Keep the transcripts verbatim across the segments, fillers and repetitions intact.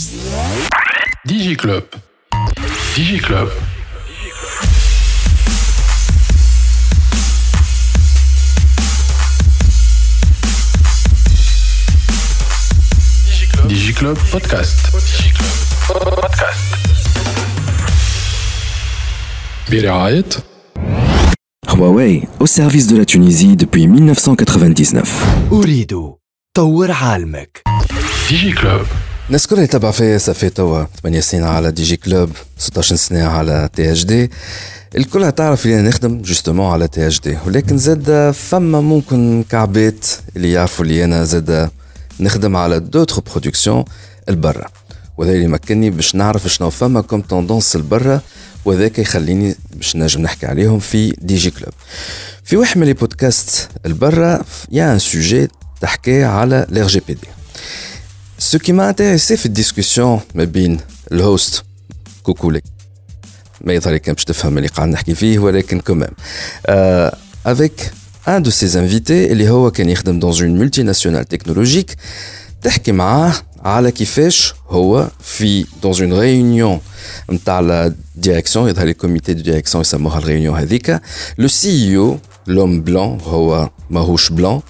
DigiClub. DigiClub. DigiClub Podcast. DigiClub Podcast. برعاية Huawei au service de la Tunisie depuis mille neuf cent quatre-vingt-dix-neuf. أريد طور عالمك. DigiClub. الناس كلها تتابع فيا صافي توا ثمانية سنين على دي جي كلوب، ستة عشر سنة على تي اتش دي. الكل تعرف اللي نخدم جوستومون على تي اتش دي، ولكن زاد فما ممكن كعبات اللي يعرفوا اللي انا زاد نخدم على دوتر برودكسيون البرا، وهذا اللي مكنني باش نعرف شنو فما كوم توندونس البرا، وذاك يخليني باش نجم نحكي عليهم في دي جي كلوب. في واحد من لي بودكاست البرا يا ان سوجي تحكي على الار جي بي دي. Ce qui m'a intéressé في الديسكوسيون ما بين الهوست كوكولي ما يظهر كان باش تفهم اللي قاعد نحكي فيه، ولكن كمان euh, avec un de ses invités اللي هو كان يخدم dans une multinationale technologique، تحكي معاه على كيفاش هو في dans une réunion نتاع لا ديريكسيون، يظهر لي كوميتي دو ديريكسيون يسموها الريونيون هذيك، لو سي اي او لوم بلان هو ماهوش بلان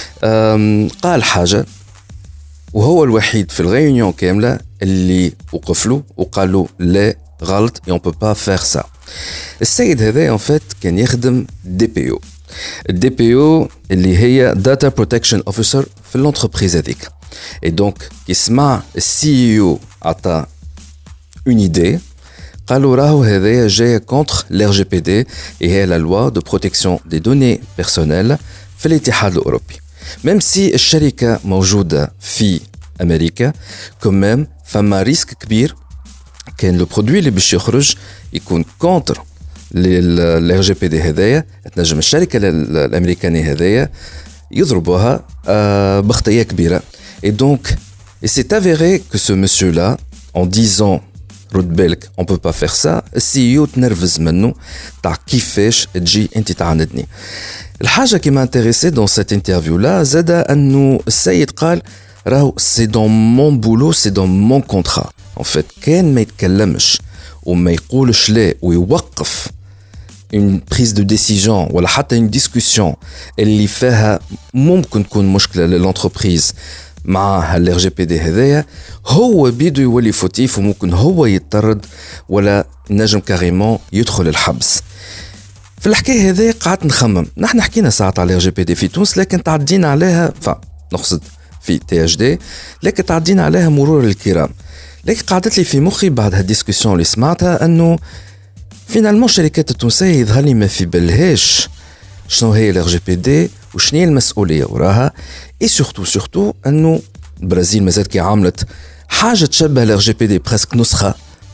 قال حاجه وهو الوحيد في الريونيون كاملة اللي وقف له وقال له لا غلط et on peut pas faire ça. السيد هذا en fait كان يخدم دي بي او. الدي بي او اللي هي Data Protection Officer في الانتربريز هذيك. Et donc يسمع السي اي او عطا une idée، قالوا راهو هذايا جاي contre l'R G P D et هي la loi de protection des données personnelles في الاتحاد الأوروبي. même si الشركة موجودة في أمريكا كمان فما ريسك كبير كان لو برودوي اللي باش يخرج يكون كونتر للار جي بي دي هذايا، تنجم الشركة الأمريكانية هذايا يضربوها بخطية كبيرة. et donc il s'est avéré que ce monsieur là en disant رد بالك on peut pas faire ça، السي او تنرفز منه تاع كيفاش تجي انت تعاندني. الحاجة qui m'a intéressé dans cette interview là زاد أنه السيد قال راهو c'est dans mon boulot c'est dans mon contrat en fait. كان ما يتكلمش وما يقولش لا ويوقف une prise de décision ولا حتى une discussion اللي فيها ممكن تكون مشكلة للانتربريز مع الار جي بي دي هذايا، هو بيدو يولي فوتيف وممكن هو يتطرد ولا نجم كاريمون يدخل الحبس. في الحكاية هذه قعدت نخمم، نحن حكينا ساعات على الار جي بي دي في تونس لكن تعدينا عليها، فنقصد في تي اتش دي، لكن تعدينا عليها مرور الكرام. لكن قعدت لي في مخي بعد هالديسكوسيون اللي سمعتها انه فينالمون الشركات التونسية يظهر لي ما في بالهاش شنو هي الار جي بي دي وشنو هي المسؤولية وراها، اي سورتو سورتو انه البرازيل مازالت كي عملت حاجة تشبه الار جي بي دي بريسك نسخة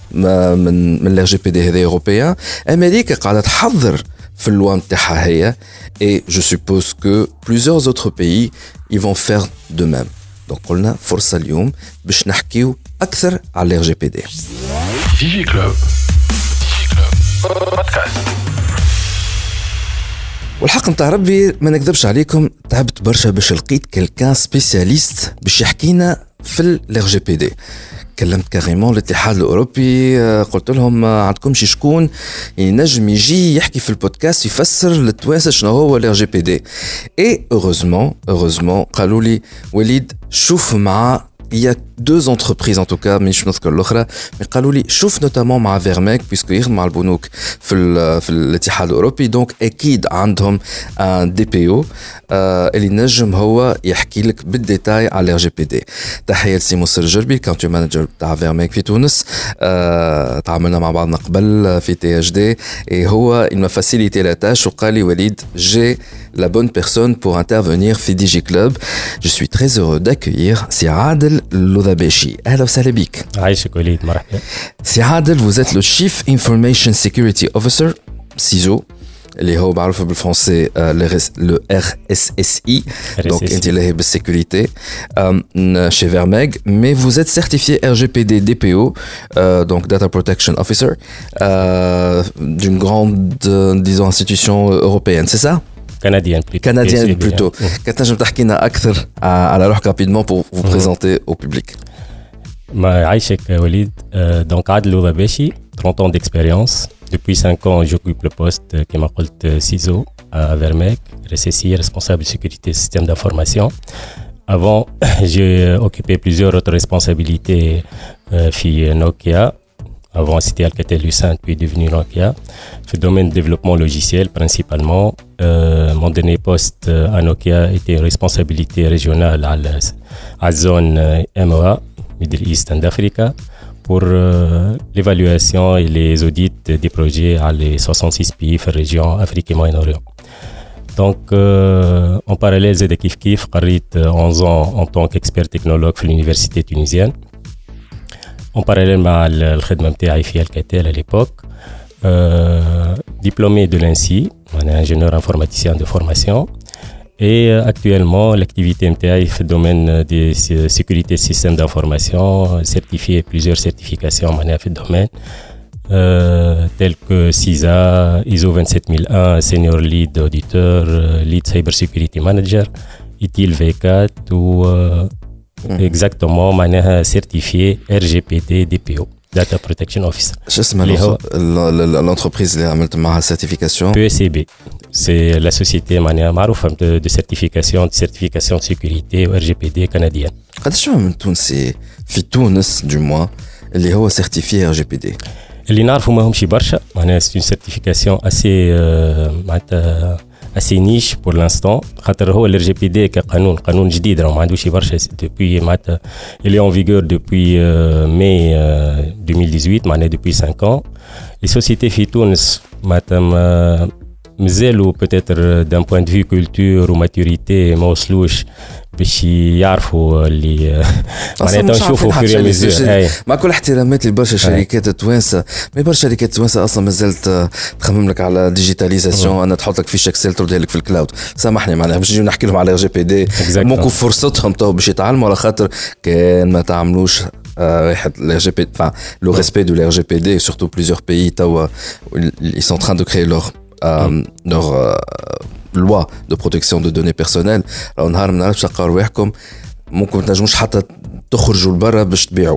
من من الار جي بي دي هذا اوروبيان. امريكا قاعدة تحضر في اللوا نتاعها هي et je suppose que plusieurs autres pays ils vont faire de même. donc قلنا فرصة اليوم باش نحكيو أكثر على الار جي بي دي. DigiClub. DigiClub Podcast. والحق نتاع ربي ما نكذبش عليكم، تعبت برشا باش لقيت كلكان سبيسياليست باش يحكينا في الار جي بي دي. كلمت كاريمون الاتحاد الأوروبي، قلت لهم عندكمش شكون ينجم يجي يحكي في البودكاست يفسر للتوانسة شنو هو الار جي بي دي. اي هeureusement هeureusement قالوا لي وليد شوف مع il y a deux entreprises en tout cas مش نذكر الأخرى، mais قالوا لي شوف نوتامون مع فيرميك بيسكو يخدم مع البنوك في في الاتحاد الأوروبي، دونك أكيد عندهم ان دي بي او اللي نجم هو يحكي لك بالديتاي على الار جي بي دي. تحية لسي مصر الجربي الكونتري مانجر تاع فيرميك في تونس، تعاملنا مع بعضنا قبل في تي اتش دي، هو il m'a facilité la tâche وقال لي وليد j'ai la bonne personne pour intervenir في دي جي كلوب. Je suis très heureux d'accueillir سي عادل اللذباشي. أهلا وسهلا بك. عايشك وليد، مرحبا. سي عادل vous êtes le Chief Information Security Officer سيزو اللي هو معروف بالفرنسي le R S S I, donc انت اللي هي بالسيكوريتي chez Vermeg, mais vous êtes certifié R G P D D P O, euh, donc Data Protection Officer euh, d'une grande euh, disons institution européenne, c'est ça? Canadienne plutôt. Canadienne plutôt. كنت نجم تحكينا أكثر على روحك rapidement pour vous présenter au public. Ma Aïchek Walid, euh, donc Adel Oudabeshi, trente ans d'expérience. Depuis cinq ans, j'occupe le poste qui m'appelle C I S O à Vermec, R S S I, responsable de sécurité système d'information. Avant, j'ai occupé plusieurs autres responsabilités euh, chez Nokia. Avant, c'était Alcatel-Lucent, puis devenu Nokia. Le domaine de développement logiciel principalement. Euh, mon dernier poste à Nokia était responsabilité régionale à la, à la zone M E A, Middle East and Africa, pour euh, l'évaluation et les audits des projets à les soixante-six pays de la région Afrique et Moyen-Orient. Donc, euh, en parallèle, j'ai Kif Kif, j'ai onze ans en tant qu'expert technologue à l'université tunisienne. En parallèle avec le khidma nta'i fi Alcatel à l'époque, euh, diplômé de l'INSI, on est ingénieur informaticien de formation, et euh, actuellement l'activité nta'i في domaine de sécurité système d'information, certifié plusieurs certifications on est في domaine euh, telles que C I S A, I S O vingt-sept mille un, senior lead auditeur, lead cyber security manager, I T I L V quatre ou euh, exactement معناها certifié R G P D D P O Data Protection Officer. شو اسمها l'entreprise اللي عملت معها certification؟ P E C B. C'est la société معناها معروفة de, de certification de certification de sécurité و R G P D canadienne. قداش من تونسي في تونس du moins اللي هو certifié R G P D؟ اللي نعرفوا ما همش برشا معناها c'est une certification assez معناتها assez niche pour l'instant خاطر هو ال R G P D كقانون قانون جديد راه ما عندوش برشا depuis معناتها il est en vigueur depuis euh, mai euh, deux mille dix-huit معناها depuis cinq ans. Les sociétés في تونس معناتها مازالوا peut-être d'un point de vue culture ou maturité ما وصلوش باش يعرفوا اللي معناتها نشوفوا في ريميزور. مع كل احتراماتي لبرشا شركات توانسه ما برشا شركات توانسه اصلا مازالت تخمم لك على ديجيتاليزاسيون انا تحط لك فيش اكسل تردها لك في الكلاود. سامحني معناها باش نجيو نحكي لهم على جي بي دي ممكن فرصتهم تو باش يتعلموا على خاطر كان ما تعملوش واحد ال R G P D enfin le respect de l'R G P D surtout plusieurs pays توا ils sont en train de créer leur euh, leur euh, loi de protection de données personnelles. Alors نهار ما نعرفش نلقاو رواحكم ممكن ما تنجموش حتى تخرجوا لبرا باش تبيعوا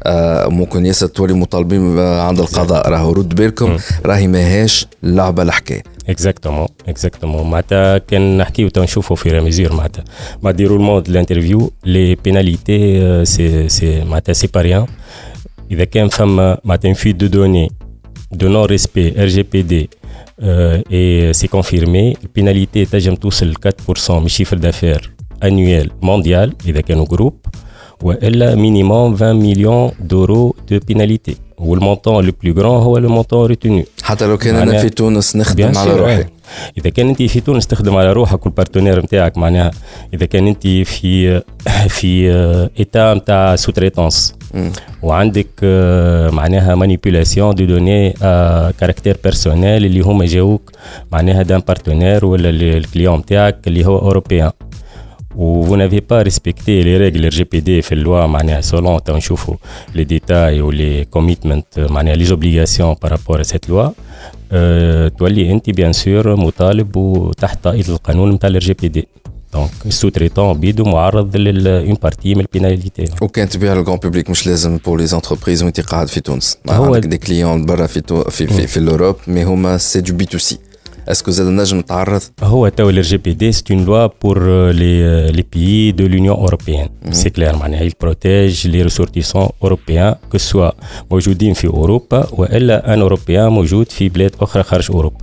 آه ممكن ياسر تولي مطالبين عند القضاء راهو رد بالكم راهي ماهاش لعبه الحكايه. اكزاكتومون اكزاكتومون معناتها كان نحكيو تو نشوفوا في ريميزور معناتها مع ديرولمون دو الانترفيو لي بيناليتي سي سي معناتها سي با ريان. اذا كان فما معناتها فيت دو دوني دو نون ريسبي R G P D Euh, et c'est confirmé, la pénalité تجم توصل quatre pour cent من chiffre d'affaires annuel mondial إذا كانوا groupe وإلا minimum vingt millions d'euros de pénalité والمونطون le plus grand هو le montant retenu. حتى لو كان أنا في تونس نخدم على روحي. إذا كان أنت في تونس تخدم على روحك والبارتنير متاعك معناها إذا كان أنت في في إيتا متاع سوتريتانس وعندك معناها مانيبيولاسيون دو دوني كاركتير بيرسونيل اللي هما جاوك معناها دان بارتنير ولا الكليون متاعك اللي هو أوروبيان و vous n'avez pas respecté les règles R G P D في اللوا معناها selon تا نشوفوا les détails ou les commitments معناها les obligations par rapport à cette loi أه تولي انت بيان سور مطالب وتحت طائله القانون نتاع ال R G P D. دونك السوتريتون بيدو معرض لل une partie من البيناليتي. وكان تبيع للجون بوبليك مش لازم بور لي زونتربريز وانت قاعد في تونس عندك دي كليون برا في تو في في, في الاوروب مي هما سي دو بي تو سي. Est-ce que vous avez نجم تعرض؟ هو تو ال R G P D c'est une loi pour les les pays de l'Union européenne. Mm-hmm. C'est clair معناها il protège les ressortissants européens que soit موجودين في أوروبا وإلا ان أوروبيان موجود في بلاد أخرى خارج أوروبا.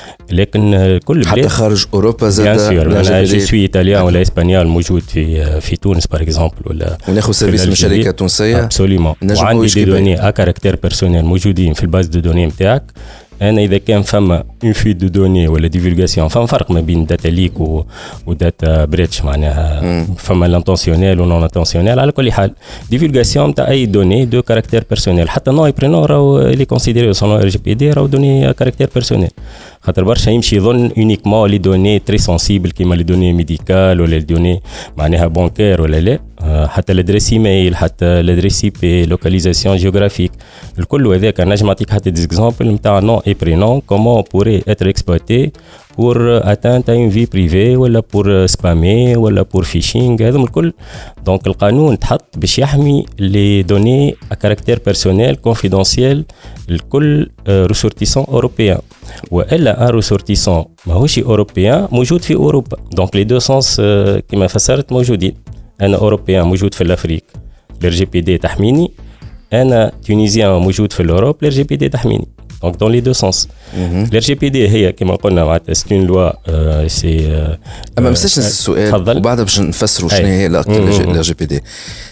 لكن كل بلاد حتى خارج أوروبا زاد. Bien sûr. أنا جو سوي إيطاليان ولا إسبانيول موجود في في تونس par exemple ولا. وناخذ سيرفيس من شركة تونسية. Absolument. وعندي دي دوني à caractère personnel موجودين في الباز دو دوني متاعك. أنا إذا كان فما une fuite de données ولا divulgation فما فرق ما بين داتا ليك و وداتا بريتش معناها فما الانتنسيونيل و نون انتنسيونيل. على كل حال divulgation نتاع أي دوني دو كاركتير بيرسونيل حتى نو برينو راهو اللي كونسيديري سون R G P D راهو دوني كاركتير بيرسونيل خاطر برشا يمشي يظن يونيكمون لي دوني تري سنسيبل كيما لي دوني ميديكال ولا لي دوني معناها بانكير ولا لا حتى l'adresse email حتى l'adresse I P localisation géographique الكل هذاك نجم نعطيك حتى des exemples نتاع nom et prénom comment on pourrait être exploité pour atteindre à une vie privée ولا pour spammer ولا pour phishing هذا الكل. donc القانون تحط باش يحمي les données à caractère personnel confidentiel الكل ressortissant européen والا un ressortissant ماهوش européen موجود في اوروبا. donc les deux sens كما فسرت موجودين. أنا أوروبيان موجود في الأفريق الار جي بي دي تحميني أنا تونيزيان موجود في الأوروب الار جي بي دي تحميني. donc dans les deux sens. الار جي بي دي هي كما قلنا معناتها c'est une loi c'est أما مساش السؤال وبعدها باش نفسروا شنو هي الار جي بي دي.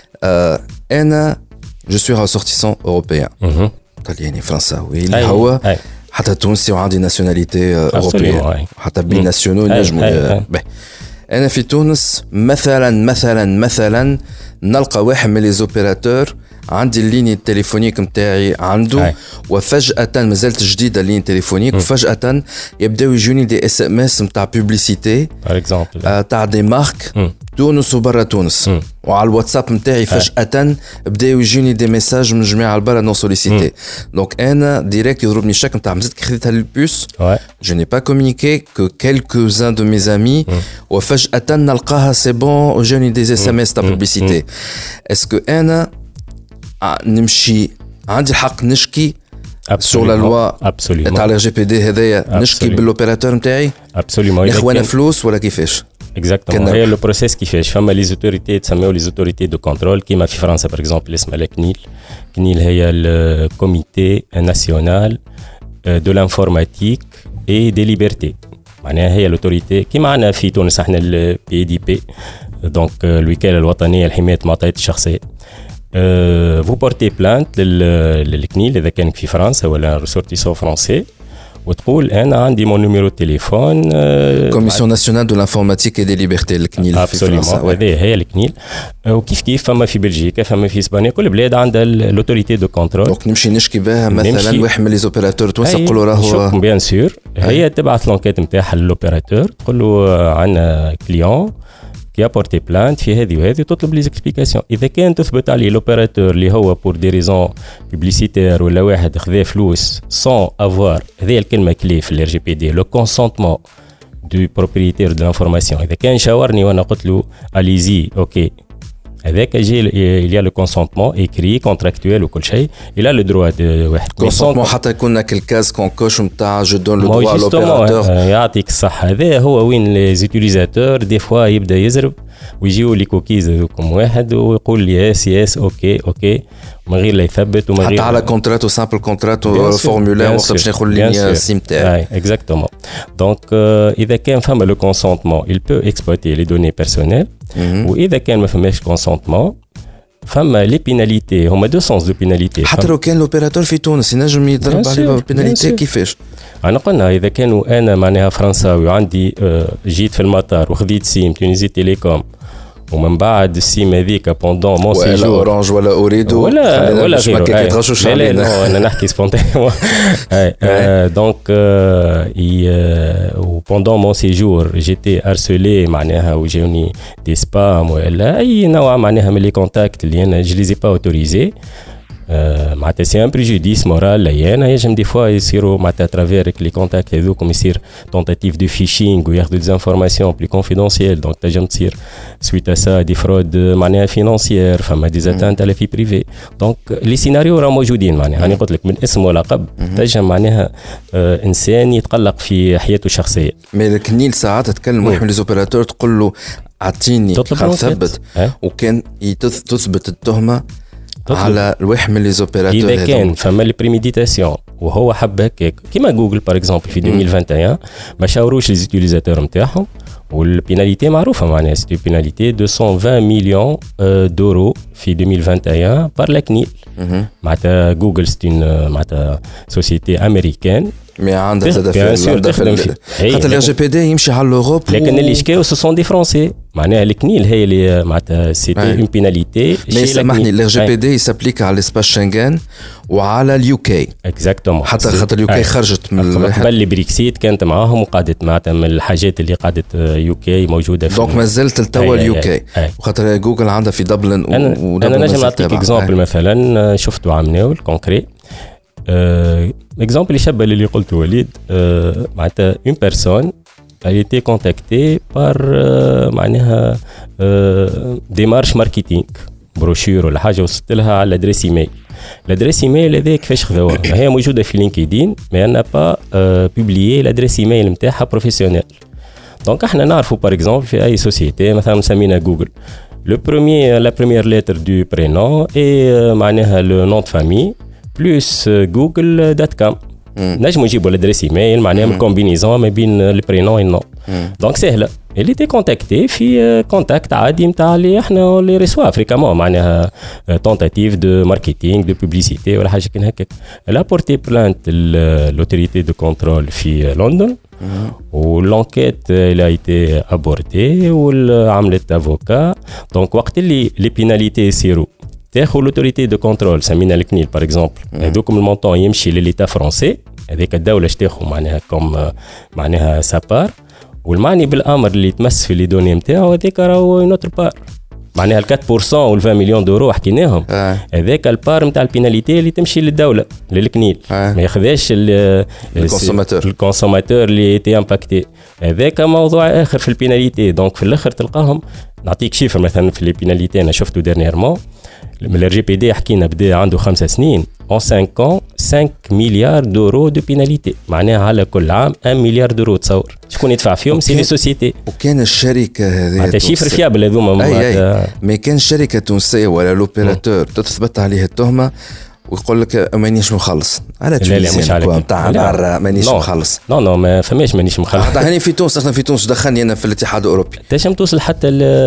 أنا je suis ressortissant européen طلياني فرنساوي اللي هو حتى تونسي وعندي ناسيوناليتي أوروبية حتى بين ناسيونو نجموا. أنا في تونس مثلا مثلا مثلا نلقى واحد من لي زوبيراتور عندي الليني التليفونيك متاعي عنده هاي. وفجأة مازالت جديدة الليني التليفونيك م. وفجأة يبداو يجوني دي اس ام اس متاع بوبليسيتي آه تاع دي مارك م. تونس وبرا تونس م. وعلى الواتساب متاعي فجأة بداو يجوني دي ميساج من جميع البرا نون سوليسيتي. دونك انا ديريكت يضربني الشك نتاع مازلت كي خديتها للبوس جو ني با كومونيكي كو كيلكو ان دو مي زامي وفجأة نلقاها سي بون وجوني دي اس ام اس تاع بوبليسيتي. اسكو انا نمشي عندي الحق نشكي سور لا لوا تاع الار جي بي دي هذايا نشكي بالاوبيراتور نتاعي ابسوليومون ياخذ فلوس ولا كيفاش؟ اكزاكتومون هي لو بروسيس كيفاش فما لي زوتوريتي تسميو لي زوتوريتي دو كونترول كيما في فرنسا باغ اكزومبل اسمها لا كنيل. كنيل هي الكوميتي ناسيونال دو لانفورماتيك اي دي ليبرتي معناها هي لوتوريتي كيما عندنا في تونس احنا البي دي بي دونك الوكاله الوطنيه لحمايه المعطيات الشخصيه. Euh, vous portez plainte للكنيل إذا كان في فرنسا ولا ressortissant français وتقول أنا عندي mon numéro de téléphone. Commission nationale de l'informatique et des libertés الكنيل في فرنسا. هذه هي الكنيل. وكيف كيف فما في بلجيكا فما في إسبانيا كل بلاد عندها l'autorité de contrôle. دونك نمشي نشكي بها مثلا واحد من لي زوبيراتور تونس نقولوا راهو بيان سور هي تبعث لونكيت نتاعها للأوبيراتور تقول له عندنا كليون qui a porté plainte في هذه وهذه وتطلب لي زيكسبليكاسيون. اذا كان تثبت عليه لوبيراتور اللي هو بور دي ريزون بوبليسيتير ولا واحد خذا فلوس سون افوار هذه الكلمه كلي في الار جي بي دي لو كونسونتمون دو بروبريتير دو لانفورماسيون. اذا كان شاورني وانا قلت له اليزي اوكي هذاك جي il y a le consentement écrit contractuel وكل شيء il a le droit de واحد consentement حتى يكون كل كاز كونكوش نتاع جو دون لو دروا لوبيراتور. يعطيك الصحه هذا هو وين لي زوتيليزاتور دي فوا يبدا يزرب ويجيو لي كوكيز هذوكم واحد ويقول لي اس اس اوكي اوكي من غير لا يثبت ومن غير حتى على كونترات وسامبل كونترات وفورمولير وقت باش ناخذ لي سيم تاعي. اكزاكتومون دونك اذا كان فما لو كونسونتمون il peut exploiter les données personnelles واذا كان ما فماش كونسونتمون فما لي بيناليتي هما دو سونس دو بيناليتي. حتى لو كان لوبيراتور في تونس ينجم يضرب عليه بيناليتي كيفاش؟ انا قلنا اذا كانوا انا معناها فرنساوي وعندي جيت في المطار وخذيت سيم تونيزي تيليكوم ومن بعد السيم هذيك بوندون مون سيجور ولا اورانج ولا اوريدو ولا ولا غيره لا لا لا انا نحكي سبونتانيمون دونك وبوندون مون سيجور جيتي هارسولي معناها وجاوني دي سبام ولا اي نوع معناها من لي كونتاكت اللي انا جو لي زي با اوتوريزي معناتها سي ان بريجوديس مورال ليانا يجم دي فوا يصيروا معناتها ترافيرك لي كونتاكت هذوكم يصير تونتاتيف دو فيشينغ وياخذوا دي انفورماسيون بلي كونفيدونسيال دونك تنجم تصير سويت ا سا دي فرود معناها فينانسيير فما دي زاتانت على في بريفي. دونك لي سيناريو راه موجودين معناها انا قلت لك من اسم ولقب تنجم معناها آه انسان يتقلق في حياته الشخصيه. مي الكنيل ساعات تتكلم واحد من لي زوبيراتور تقول له اعطيني نثبت وكان تثبت التهمه على الواحد من لي زوبيراتور. اذا كان فما لي بريميديتاسيون وهو حب هكاك كيما جوجل باغ اكزومبل في ألفين وواحد وعشرين ما شاوروش لي زوتيليزاتور نتاعهم والبيناليتي معروفه معناها سي بيناليتي مئتين وعشرين مليون دورو في ألفين وواحد وعشرين بار لا كنيل. معناتها جوجل سي معناتها سوسيتي امريكان مي عندها زاد في خاطر الار جي بي دي يمشي على لوروب. لكن اللي شكاو سو سون دي فرونسي معناها الكنيل هي اللي معناتها سيتي اون بيناليتي. مي سامحني الار جي بي دي يسابليك على سباس شنغن وعلى اليو كي اكزاكتومون حتى خاطر اليو كي خرجت من قبل البريكسيت كانت معاهم وقعدت معناتها من الحاجات اللي قعدت يو كي موجوده في دونك مازلت التوا اليو كي وخاطر جوجل عندها في دبلن. انا نجم نعطيك اكزامبل مثلا شفته عملناه الكونكري اكزامبل يشبه اللي قلته وليد. معناتها اون بيرسون a été contactée par معناها ديمارش ماركتينغ بروشور ولا حاجه وصلت لها على الادريس ايميل. الادريس ايميل هذا كيفاش خذوها هي موجوده في لينكدين مي انا با بوبليي الادريس ايميل نتاعها بروفيسيونيل. دونك احنا نعرفوا باغ اكزومبل في اي سوسيتي مثلا مسمينا جوجل لو بروميير لا بروميير ليتر دو برينون اي معناها لو نون دو فامي بلس جوجل دوت كوم. نجموا نجيبوا الادريس ايميل معناها من كومبينيزون ما بين البرينون والنون. دونك سهله اللي تي كونتاكتي في كونتاكت عادي نتاع اللي احنا اللي ريسوا فريكامون معناها تونتاتيف دو ماركتينغ دو بوبليسيتي ولا حاجه كان هكاك. لا بورتي بلانت لوتوريتي دو كونترول في لندن والانكيت اللي ايتي ابورتي وعملت افوكا. دونك وقت اللي لي بيناليتي يصيروا تاخذ لوتوريتي دو كونترول سمينا الكنيل باغ اكزومبل هذوك المونطون يمشي لليتا فرونسي هذيك الدوله تاخذ معناها كوم معناها سابار والمعني بالامر اللي يتمس في لي دوني نتاعو هذيك راهو نوتر بار معناها ال أربعة بالمية وال عشرين مليون دورو حكيناهم هذاك البار نتاع البيناليتي اللي تمشي للدوله للكنيل ما ياخذاش الكونسوماتور الكونسوماتور اللي تي امباكتي. هذاك موضوع اخر في البيناليتي. دونك في الاخر تلقاهم نعطيك شيفر مثلا في لي بيناليتي انا شفته ديرنييرمون من الار جي بي دي حكينا بدا عنده خمسة سنين اون خمسة ans خمسة مليار دورو دو بيناليتي معناها على كل عام واحد مليار دورو. تصور شكون يدفع فيهم؟ سي لي سوسيتي. وكان الشركه هذه معناتها شيفر فيابل هذوما معناتها ما كان شركه تونسيه ولا لوبيراتور تثبت عليه التهمه ويقول لك مانيش مخلص على تونس نتاع مانيش مخلص. نو نو ما فماش مانيش مخلص. حتى هاني في تونس احنا في تونس دخلني انا في الاتحاد الاوروبي تنجم توصل حتى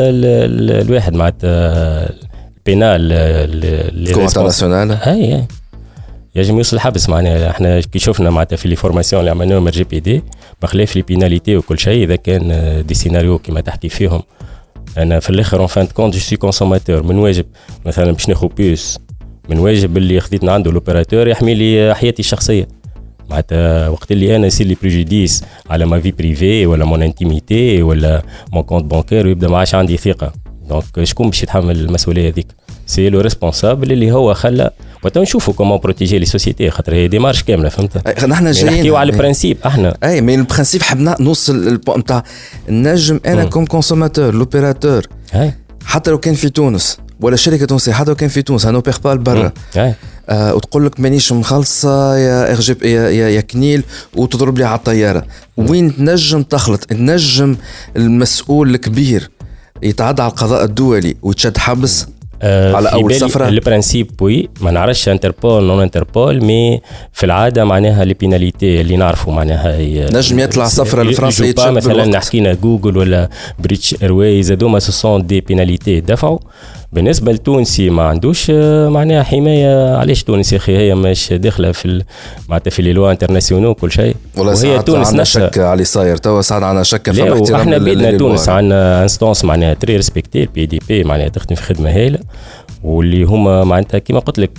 الواحد معناتها بينال الكوميت ناسيونال اي اي يجب يوصل الحبس. معناها احنا كي شفنا معناتها في لي فورماسيون اللي عملناهم جي بي دي بخلاف لي بيناليتي وكل شيء اذا كان دي سيناريو كما تحكي فيهم انا في الاخر اون فان كونت جو سي كونسوماتور من واجب مثلا باش ناخذ بيس من واجب اللي خديت عنده لوبيراتور يحمي لي حياتي الشخصيه معناتها وقت اللي انا يصير لي بريجوديس على ما في بريفي ولا مون انتيميتي ولا مون كونت بانكير ويبدا ما عادش عندي ثقه. دونك شكون باش يتحمل المسؤوليه هذيك؟ سي لو ريسبونسابل اللي هو خلى وقت نشوفوا كومون بروتيجي لي سوسيتي خاطر هي ديمارش كامله فهمت. نحن جايين نحكيو على البرانسيب احنا اي مي البرانسيب حبنا نوصل البوان نتاع النجم انا كوم كونسوماتور لوبيراتور حتى لو كان في تونس ولا شركه تونسيه حتى لو كان في تونس انا بيغ با برا آه وتقول لك مانيش مخلصه يا ار جي يا, يا, يا كنيل وتضرب لي على الطياره. وين تنجم تخلط النجم المسؤول الكبير يتعدى على القضاء الدولي ويتشد حبس آه على اول سفره. البرانسيب وي ما نعرفش انتربول نون انتربول مي في العاده معناها لي بيناليتي اللي نعرفوا معناها نجم يطلع سفره لفرنسا يتشد مثلا نحكينا جوجل ولا بريتش ايرويز هذوما سو سون دي بيناليتي دفعوا. بالنسبه لتونسي ما عندوش معناها حمايه. علاش تونس يا اخي هي مش داخله في معناتها في لي لوا انترناسيونال كل شيء وهي تونس نفسها شك على صاير توا ساعد عندنا شك في احترام. احنا بيدنا تونس عندنا انستانس معناها تري ريسبكتي البي دي بي معناها تخدم في خدمه هايله واللي هما معناتها كيما قلت لك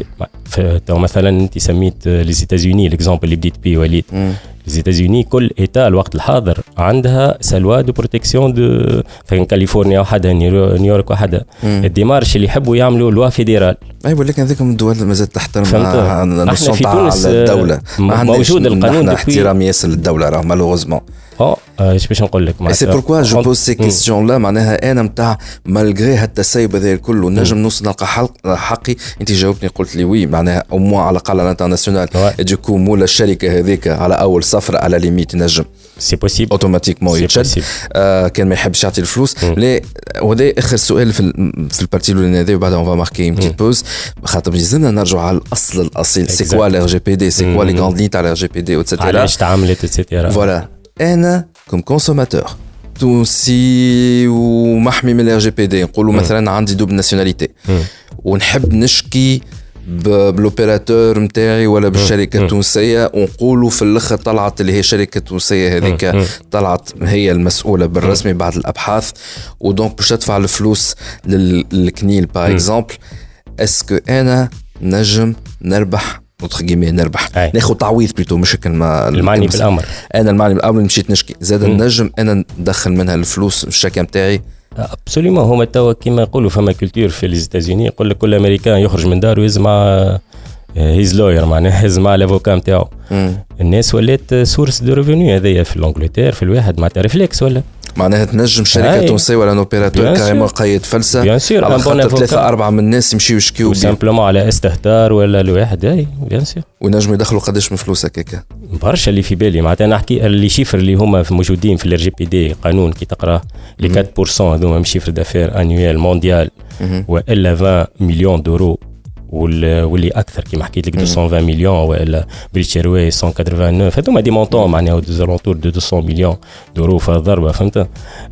تو مثلا انت سميت لي زيتازوني الاكزامبل اللي بديت بيه وليد. لي زيتازوني كل ايتا الوقت الحاضر عندها سلوا دو بروتيكسيون دو في كاليفورنيا وحدها نيويورك وحدها الديمارش اللي يحبوا يعملوا لوا فيدرال. اي ولكن هذيك من الدول مازال تحترم النص تاع الدوله موجود القانون احترام ياسر للدوله راه مالوغوزمون. اه ايش باش نقول لك معناتها سي بوركوا جو بوز سي كيستيون لا معناها انا نتاع مالغري هالتسيب هذا الكل نجم نوصل نلقى حقي. انت جاوبتني قلت لي وي معناها او مو على الاقل على الانترناسيونال ديكو مولا الشركه هذيك على اول سفره على ليميت نجم سي بوسيبل اوتوماتيكمون يتشد آه كان ما يحبش يعطي الفلوس. لا وهذا اخر سؤال في في البارتي الاولانيه هذه وبعدها اون فا ماركي بتيت بوز خاطر لازمنا نرجعوا على الاصل الاصيل. سي كوا الار جي بي دي سي كوا لي غراند لين تاع الار جي بي دي وتسيتيرا علاش تعاملت اتسيتيرا فوالا. انا كوم كونسوماتور تونسي ومحمي من الار جي بي دي نقولوا مثلا عندي دوبل ناسيوناليتي ونحب نشكي بالاوبيراتور نتاعي ولا بالشركه التونسيه ونقولوا في الاخر طلعت اللي هي شركه تونسيه هذيك طلعت هي المسؤوله بالرسمي بعد الابحاث ودونك باش تدفع الفلوس للكنيل باغ اكزومبل اسكو انا نجم نربح نتخجمي نربح أي. ناخذ تعويض بليتو مش كلمه المعني بالامر انا المعني بالامر مشيت نشكي زاد النجم انا ندخل منها الفلوس الشركه نتاعي ابسوليومون. هما توا كيما يقولوا فما كولتور في ليزيتازوني يقول لك كل امريكان يخرج من داره يهز مع هيز لوير معناها يهز مع الافوكا نتاعو. الناس ولات سورس دو ريفوني هذيا في الانجلتير في الواحد معناتها ريفلكس ولا معناها تنجم شركه تونسيه ولا اوبيراتور كاريمون قيد فلسه بيان سور على خاطر ثلاثه اربعه من الناس يمشيو يشكيو سامبلومون على استهتار ولا الواحد اي بيان سور ونجموا يدخلوا قداش من فلوس هكاك برشا اللي في بالي معناتها نحكي اللي شيفر اللي هما موجودين في الار جي بي دي قانون كي تقرا لي أربعة بالمية هذوما من شيفر دافير انويل مونديال والا عشرين مليون دورو واللي اكثر كما حكيت لك مئتين وعشرين مليون والا بريتش ايروي مئة وتسعة وثمانين هذوما دي مونطون معناها ديزالونتور دو مئتين مليون دورو في الضربه فهمت.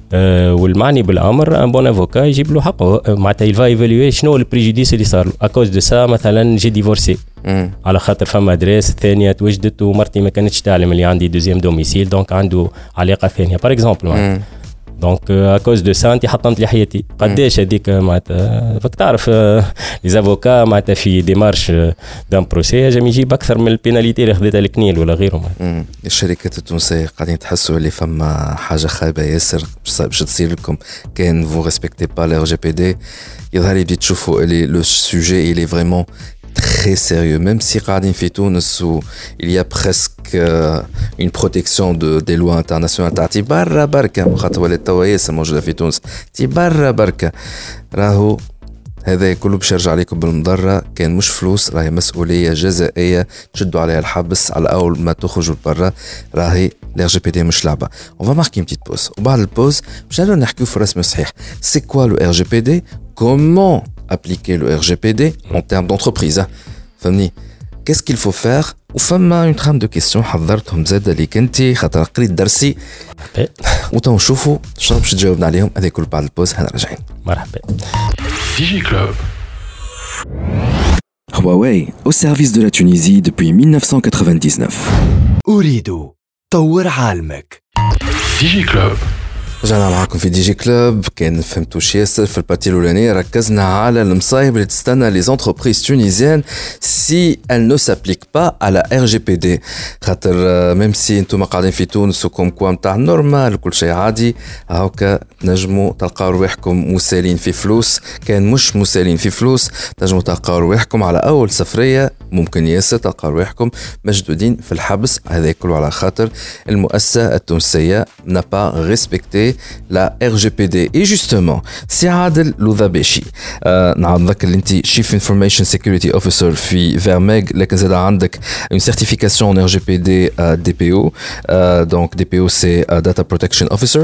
أه والمعني بالامر ان بون افوكا يجيب له حقه معناتها يلفا ايفالوي شنو البريجوديس اللي صار له اكوز دو سا مثلا جي ديفورسي على خاطر فما ادريس الثانيه توجدت ومرتي ما كانتش تعلم اللي عندي دوزيام دوميسيل دونك عنده علاقه ثانيه باغ اكزومبل دونك اكوز دو سا انت حطمت لي حياتي قداش هذيك معناتها فك تعرف لي زافوكا معناتها في ديمارش دان بروسي جام يجيب اكثر من البيناليتي اللي خذتها الكنيل ولا غيرهم. الشركات التونسيه قاعدين تحسوا اللي فما حاجه خايبه ياسر باش تصير لكم كان فو ريسبكتي با لي ار جي بي دي يظهر لي بديت تشوفوا اللي لو سوجي il est vraiment très sérieux, même si قاعدين في تونس où il y a presque euh, une protection de, des lois internationales تاعتي برا بركة خاطر ولات توا ياسر موجودة في تونس تي برا بركة راهو هذا كله باش يرجع عليكم بالمضرة كان مش فلوس راهي مسؤولية جزائية تشدوا عليها الحبس على أول ما تخرجوا برا راهي l'R G P D مش لعبة. On va marquer une petite pause وبعد البوز باش نرجعوا نحكيو في الرسم الصحيح c'est quoi le R G P D comment appliquer le R G P D en termes d'entreprise فهمني qu'est-ce qu'il faut faire وفما une trame de questions حضرتهم زاد اللي كنتي خاطر قريت درسي وتو نشوفوا شنو باش تجاوبنا عليهم هذا كل بعد البوز هنا راجعين. مرحبا. Digi Club. Huawei, au service de la Tunisie depuis mille neuf cent quatre-vingt-dix-neuf. أريد طور عالمك. Digi Club. رجعنا معاكم في دي جي كلوب. كان فهمتوش ياسر في البارتي الاولانيه ركزنا على المصايب اللي تستنى لي زونتربريز تونيزيان سي ال نو سابليك با على ار جي بي دي خاطر ميم سي انتم قاعدين في تونس وكم كوا نتاع نورمال كل شيء عادي هاكا تنجموا تلقاو رواحكم مسالين في فلوس كان مش مسالين في فلوس تنجموا تلقاو رواحكم على اول سفريه ممكن ياسر تلقاو رواحكم مشدودين في الحبس هذا كله على خاطر المؤسسه التونسيه n'a pas respecté la R G P D. Et justement, c'est Adel Loudhabeshi. نعم نذكر اللي انت Chief Information Security Officer في Vermeg لكن زاد عندك une certification en R G P D D P O. Donc D P O c'est Data Protection Officer.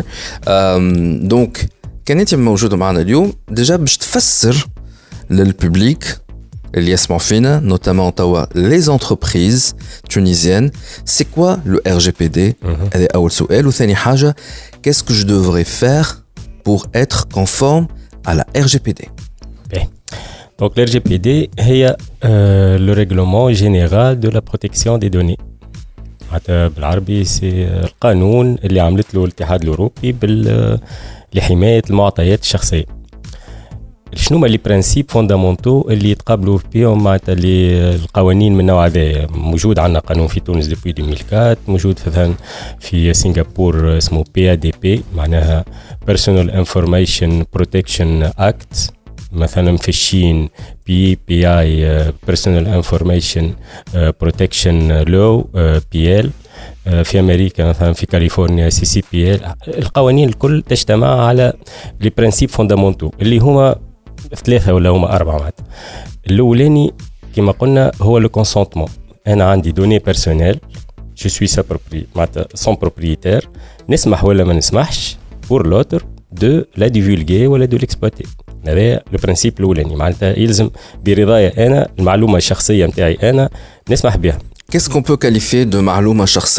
Donc كان انت موجود معنا اليوم ديجا باش تفسر للببليك اللي يسمعوا فينا notamment توا les entreprises tunisiennes c'est quoi le R G P D هذا أول سؤال وثاني حاجة qu'est-ce que je devrais faire pour être conforme à la R G P D. Okay. Donc le R G P D هي euh, le règlement général de la protection des données حتى بالعربي سي القانون اللي عملت له الاتحاد الأوروبي بال لحماية المعطيات الشخصية. شنو هما لي برانسيب فوندامونتو اللي يتقابلوا بهم مع القوانين من النوع هذا موجود عندنا قانون في تونس ديبوي ألفين وأربعة موجود مثلا في سنغافور اسمه بي إيه دي بي معناها Personal Information Protection Act مثلا في الصين بي بي اي Personal Information Protection Law بي إل في أمريكا مثلا في كاليفورنيا سي سي بي إل القوانين الكل تجتمع على لي برانسيب فوندامونتو اللي هما ثلاثة ولا هما أربعة مات. الأولاني كما قلنا هو لو كونسونتمون أنا عندي دوني بيرسونيل جو سوي سا بروبري معناتها سون بروبريتير نسمح ولا ما نسمحش بور لوتر دو لا ديفولغي ولا دو ليكسبلوتي هذا لو برانسيب الأولاني معناتها يلزم برضايا أنا المعلومة الشخصية متاعي أنا نسمح بها. Qu'est-ce qu'on peut qualifier de معلومة شخصية؟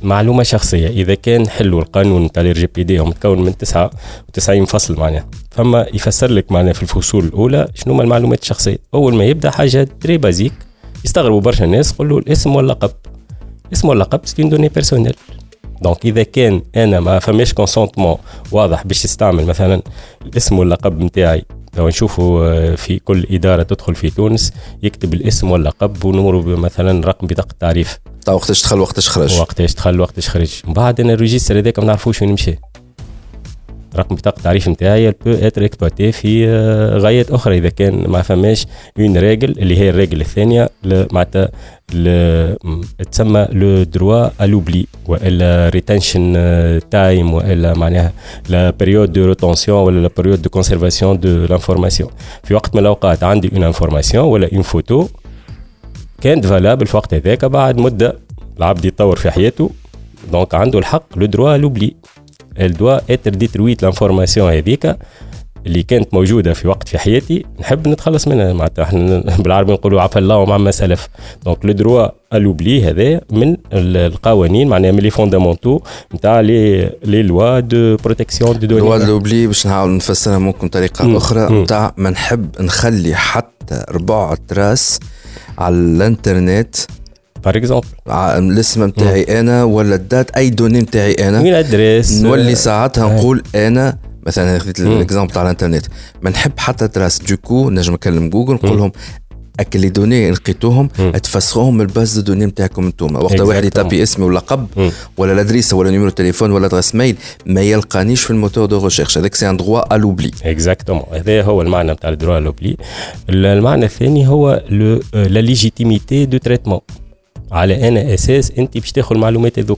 معلومة شخصية إذا كان حلو القانون تاع الار جي بي دي متكون من تسعة وتسعين فصل معناها، فما يفسر لك معناها في الفصول الأولى شنو ما المعلومات الشخصية. أول ما يبدأ حاجة تري بازيك يستغربوا برشا الناس، قولوا الاسم واللقب. اسم واللقب سين دوني بيرسونيل. دونك إذا كان أنا ما فماش كونسونتمون واضح باش تستعمل مثلا الاسم واللقب متاعي، لو نشوفوا في كل إدارة تدخل في تونس يكتب الاسم واللقب ونمر مثلا رقم بطاقة التعريف، تا وقتاش دخل وقتاش خرج، وقتاش دخل وقتاش خرج. من بعد أنا الريجستر هذاك ما نعرفوش وين مشى. رقم بطاقة التعريف نتاعي بو اتر اكسبلوتي في غايات أخرى إذا كان ما فماش اون ريجل اللي هي الريجل الثانية معناتها تسمى لو دروا ا لوبلي والا ريتنشن تايم والا معناها لا بيريود دو روتونسيون ولا لا بيريود دو كونسيرفاسيون دو لانفورماسيون. في وقت من الأوقات عندي اون انفورماسيون ولا اون فوتو كانت فالابل في وقت هذاك، بعد مدة العبد يتطور في حياته دونك عنده الحق لو دروا ا لوبلي. elle doit être détruite l'information هذيك اللي كانت موجودة في وقت في حياتي نحب نتخلص منها. معناتها احنا بالعربي نقولوا عفى الله وما سلف. دونك لو دروا الوبلي هذا من القوانين معناها من لي فوندامونتو نتاع لي لي لوا دو بروتيكسيون دو دوني. لوا الوبلي باش نحاول نفسرها ممكن طريقة م. أخرى نتاع ما نحب نخلي حتى ربع تراس على الانترنت بار اكزومبل الاسم نتاعي انا ولا الدات اي دوني نتاعي انا من ادريس نولي ساعتها نقول انا مثلا خديت الاكزامبل تاع الانترنت ما نحب حتى تراس دوكو نجم نكلم جوجل نقول لهم اكل لي دوني لقيتوهم تفسروهم من الباز دو دوني نتاعكم انتوما. وقت واحد يتابي اسمي ولا لقب ولا الادريسه ولا نيميرو تليفون ولا ادريس ميل ما يلقانيش في الموتور دو ريشيرش. هذاك سي ان دروا ا لوبلي. اكزاكتومون هذا هو المعنى نتاع الدروا ا لوبلي. المعنى الثاني هو لا ليجيتيميتي دو تريتمون. على أنا أساس أنت باش تاخذ المعلومات هذوك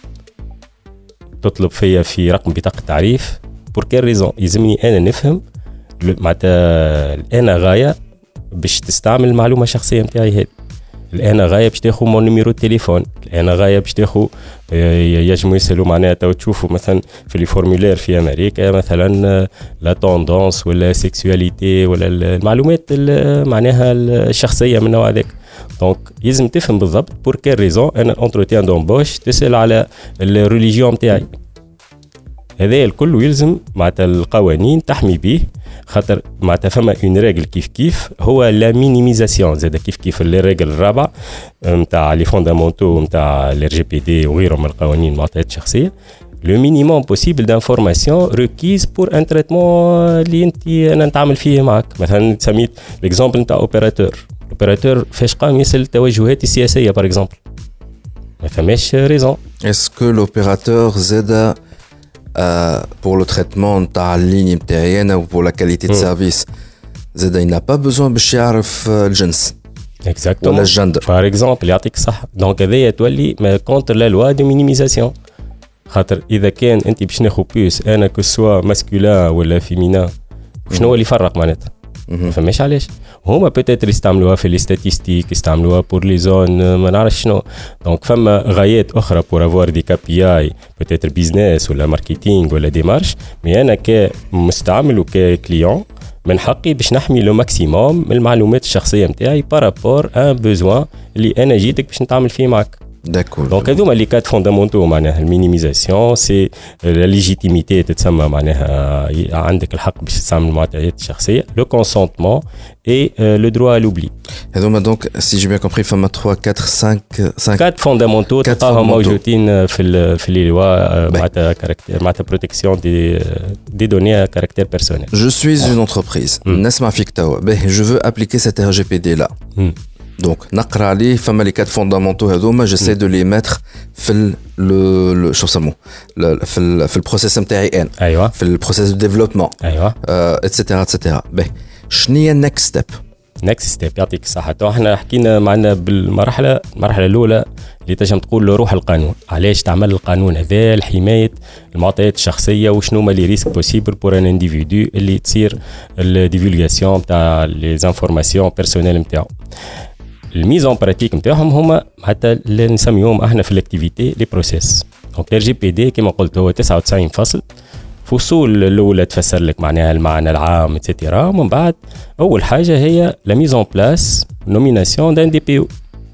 تطلب فيا في رقم بطاقة التعريف بور كيل ريزون يلزمني أنا نفهم معناتها أنا غاية باش تستعمل المعلومة الشخصية نتاعي هذه. الآن غاية باش تاخذ مون نيميرو تليفون، الآن غاية باش تاخذ يجمو يسألوا معناها تو تشوفوا مثلا في لي فورمولير في أمريكا مثلا لا توندونس ولا سيكسواليتي ولا المعلومات معناها الشخصية من النوع هذاك. دونك يلزم تفهم بالضبط بور كيل ريزون انا الانتروتيان دومبوش تسال على الريليجيون نتاعي. هذا الكل يلزم معناتها القوانين تحمي به، خاطر معناتها فما اون ريغل كيف كيف هو لا مينيميزاسيون زاد كيف كيف لي ريغل الرابعه نتاع لي فوندامونتو نتاع الار جي بي دي وغيرهم من القوانين المعطيات الشخصيه. لو مينيموم بوسيبل دانفورماسيون ريكيز بور ان تريتمون اللي انت انا نتعامل فيه معك. مثلا سميت ليكزامبل نتاع اوبيراتور، الاوبيراتور فاش قام يسال التوجهات السياسيه بار اكزومبل ما فماش ريزون. اسكو لوبيراتور زاد بور لو تريتمون نتاع الليني نتاعي انا وبور لا كاليتي دو سيرفيس زاد ينا با بوزون باش يعرف الجنس اكزاكتومون ولا الجندر بار اكزومبل يعطيك صح. دونك هذايا تولي ما كونتر لا لوا دو مينيميزاسيون. خاطر اذا كان انت باش ناخذ بيس انا كو سوا ماسكولين ولا فيمينا شنو هو اللي يفرق معناتها فماش علاش هما بوتيتر يستعملوها في لي ستاتيستيك يستعملوها بور لي زون ما نعرفش شنو. دونك فما غايات اخرى بور افوار دي كي بي اي بوتيتر بيزنس ولا ماركتينغ ولا ديمارش. مي انا كمستعمل وككليون من حقي باش نحمي لو ماكسيموم من المعلومات الشخصيه نتاعي بارابور ان بوزوان اللي انا جيتك باش نتعامل فيه معك. داكور دونك هذوما لي كات فوندامونتو معناها المينيميزاسيون سي لا ليجيتيميتي تتسمى معناها عندك الحق باش تستعمل المعطيات الشخصيه لو كونسونتمون اي لو دروا لوبلي. هذوما دونك سي جي بيان كومبري فما ثلاثة أربعة خمسة خمسة كات فوندامونتو تلقاهم موجودين في ال في لي لوا معناتها كاركتير معناتها بروتيكسيون دي دي دوني كاركتير بيرسونيل. جو سويز اون انتربريز نسمع فيك توا باهي جو فو ابليكي سيت ار جي بي دي لا دونك نقرا عليه فما لي كات فوندامونتو هذوما جيساي دو لي ميتر في لو شو سموه في ال في البروسيس نتاعي انا ايوه في البروسيس دو ديفلوبمون ايوه اتسيتيرا اتسيتيرا. باهي شنو هي النكست ستيب؟ نكست ستيب يعطيك الصحه. تو احنا حكينا معنا بالمرحله المرحله الاولى اللي تنجم تقول له روح القانون. علاش تعمل القانون هذا لحمايه المعطيات الشخصيه وشنو هما لي ريسك بوسيبل بور ان انديفيدو اللي تصير الديفولغاسيون تاع لي زانفورماسيون بيرسونيل نتاعو. الميزون براتيك نتاعهم هما حتى اللي نسميهم احنا في الاكتيفيتي لي بروسيس. دونك ار جي بي دي كما قلت هو تسعة وتسعين فصل. فصول الاولى تفسر لك معناها المعنى العام اتسيتيرا. ومن بعد اول حاجه هي لا ميزون بلاس نوميناسيون دان دي بي او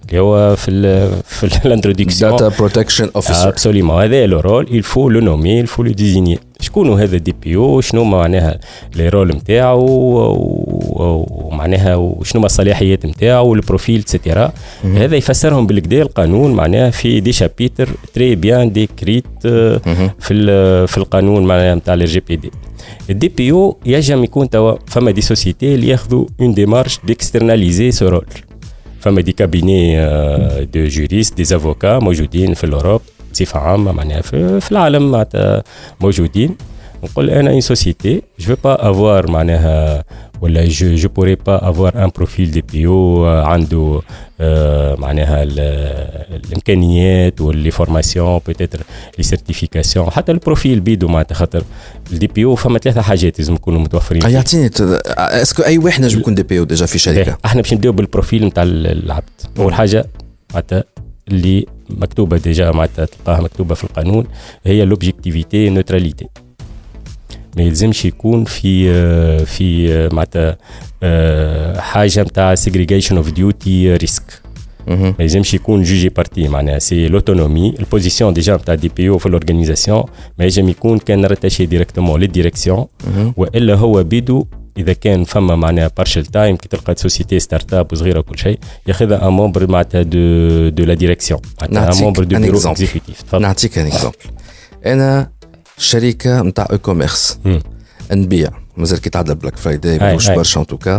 اللي هو في ال في الانترودكسيون داتا بروتكشن اوفيسر. ابسوليومون هذا لو رول il faut le nommer il faut le désigner. شكون هذا الدي بي او؟ شنو معناها لي رول نتاعو ومعناها وشنو الصلاحيات نتاعو والبروفيل اتسيتيرا. هذا يفسرهم بالكدا القانون معناها في دي شابيتر تري بيان ديكريت في في القانون معناها نتاع الجي بي دي. الدي بي او يجب يكون توا فما دي سوسيتي اللي ياخذوا اون ديمارش ديكسترناليزي سو رول. فما دي كابيني دو جوريست دي افوكا موجودين في الاوروب بصفه عامه معناها في, في العالم معناتها موجودين. نقول انا اون سوسيتي جو في با افوار معناها ولا جو جو بوري با افوار ان بروفيل دي بي او عنده معناها الامكانيات واللي فورماسيون بوتيتر لي سيرتيفيكاسيون حتى البروفيل بيدو معناتها خاطر الدي بي او فما ثلاثه حاجات لازم يكونوا متوفرين. يعطيني اسكو اي واحد نجم يكون دي بي او ديجا في شركه؟ احنا باش نبداو بالبروفيل نتاع العبد. اول حاجه معناتها اللي مكتوبه ديجا معناتها تلقاها مكتوبه في القانون هي لوبجيكتيفيتي نوتراليتي. ما يلزمش يكون في في معناتها حاجه نتاع سيغريغيشن اوف ديوتي ريسك. ما يلزمش يكون جوجي بارتي معناها سي لوتونومي البوزيسيون ديجا نتاع دي بي او في الاورغانيزاسيون. ما يلزم يكون كان راتاشي ديريكتومون للديريكسيون والا هو بيدو اذا كان فما معناها بارشل تايم كي تلقى سوسيتي ستارت اب وصغيره وكل شيء ياخذها ان مومبر معناتها دو دو لا ديريكسيون معناتها ان مومبر دو بيرو اكزيكوتيف. نعطيك ان اكزومبل. انا شركه نتاع اي كوميرس نبيع مازال كي تعدى بلاك فرايداي مش برشا ان توكا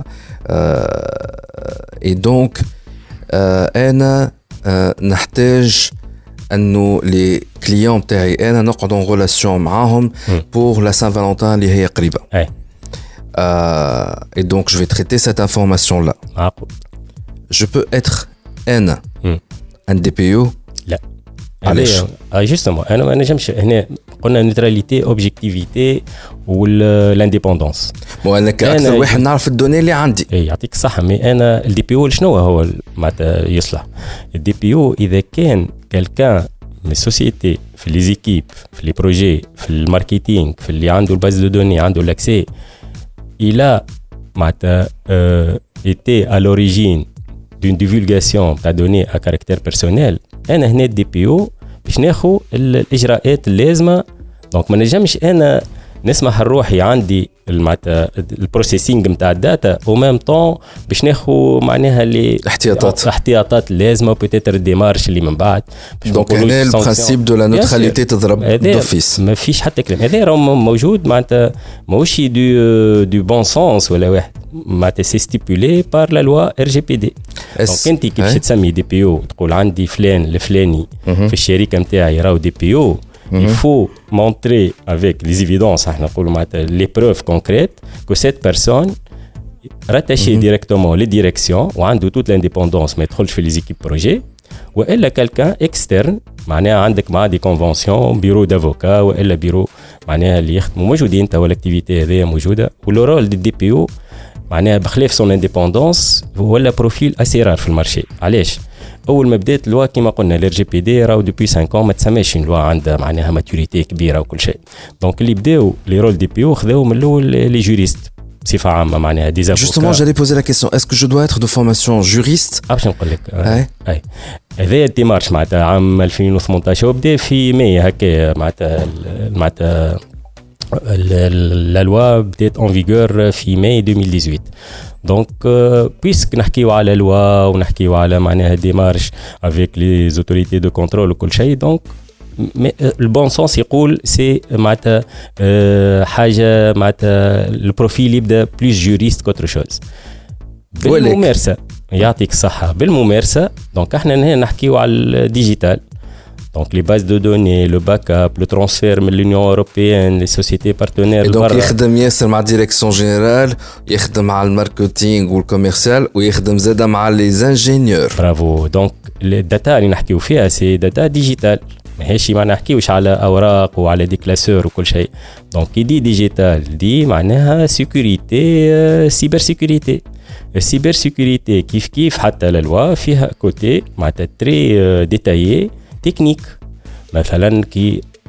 اي دونك انا آه نحتاج انه لي كليون تاعي انا نقعد ان ريلاسيون معاهم بور لا سان فالونتين اللي هي قريبه. اي دونك جو في تريتي سيت انفورماسيون لا. جو بو اتر انا ان دي بي او؟ لا. علاش؟ اه جوستومون انا ما نجمش هنا قلنا نيوتراليتي اوبجيكتيفيتي والانديبوندونس. مو انا كاكثر واحد نعرف الدوني اللي عندي. اي يعطيك الصحه. مي انا الدي بي او شنو هو معناتها يصلح؟ الدي بي او اذا كان كالكان من السوسيتي في لي زيكيب في لي بروجي في الماركتينغ في اللي عنده الباز دو دوني عنده لاكسي الى معناتها ايتي ا لوريجين دون ديفولغاسيون تاع دوني ا كاركتير بيرسونيل. انا هنا الدي بي او باش ناخذ الاجراءات اللازمه. دونك ما نجمش انا نسمح لروحي عندي معناتها البروسيسينغ نتاع الداتا او ميم طون باش ناخذ معناها اللي احتياطات احتياطات اللازمه بوتيتر ديمارش اللي من بعد. دونك هنا البرانسيب دو لا نوتراليتي تضرب دوفيس. ما فيش حتى كلام. هذا راه موجود معناتها ماهوش دو دو بون سونس ولا واحد معناتها سي ستيبولي بار لا لوا ار جي بي دي. دونك انت كي باش تسمي دي بي او تقول عندي فلان الفلاني في الشركه نتاعي راهو دي بي او. Il faut montrer avec les évidences, les preuves concrètes que cette personne rattachée mm-hmm. directement les directions ou a toute l'indépendance mais تدخلش في les équipes projet ou elle quelqu'un externe معناها عندك مع des conventions bureau d'avocat ou elle bureau معناها اللي يخدموا موجودين توا الاكتيفيتي هذه موجوده. ولو رول دي بي او معناها بخلاف son indépendance ولا بروفيل اسي رار في المارشي. علاش؟ اول ما بدات اللوا كيما قلنا الار جي بي دي راهو دوبي خمسة ans ما تسماش اللوا عندها معناها ماتوريتي كبيره وكل شيء. دونك اللي بداو لي رول دي بي او خذاو من الاول لي جوريست بصفه عامه معناها دي افوكا. جوستومون جالي بوزي لا كيسيون اسكو جو دوا اتر دو فورماسيون جوريست؟ باش نقول لك اي اي هذا الديمارش معناتها عام ألفين وثمانطاش وبدا في ماي هكا معناتها معناتها la loi بدات en vigueur في ماي ألفين وثمانية عشر. دونك بيسك نحكيو على لوا ونحكيو على معناها ديمارش افيك لي زوتوريتي دو كونترول وكل شيء. دونك البون سونس يقول سي معناتها حاجه معناتها البروفيل يبدا بلوس جوريست كوتر شوز بالممارسه. يعطيك الصحه بالممارسه. دونك احنا هنا نحكيو على الديجيتال. Donc les bases de données, le backup, le transfert de l'Union européenne, les sociétés partenaires. Et donc يخدم ياسر مع ديريكسيون جينيرال، يخدم مع الماركتينغ والكوميرسيال ويخدم زاده مع لي انجينيور. برافو. دونك الداتا اللي نحكيو فيها سي داتا ديجيتال. ماهيش ما نحكيوش على اوراق وعلى دي كلاسور وكل شيء. دونك كي دي ديجيتال دي معناها سيكوريتي سيبر سيكوريتي. السيبر سيكوريتي كيف كيف حتى للوا فيها كوتي معناتها تري ديتايي تكنيك. مثلا كي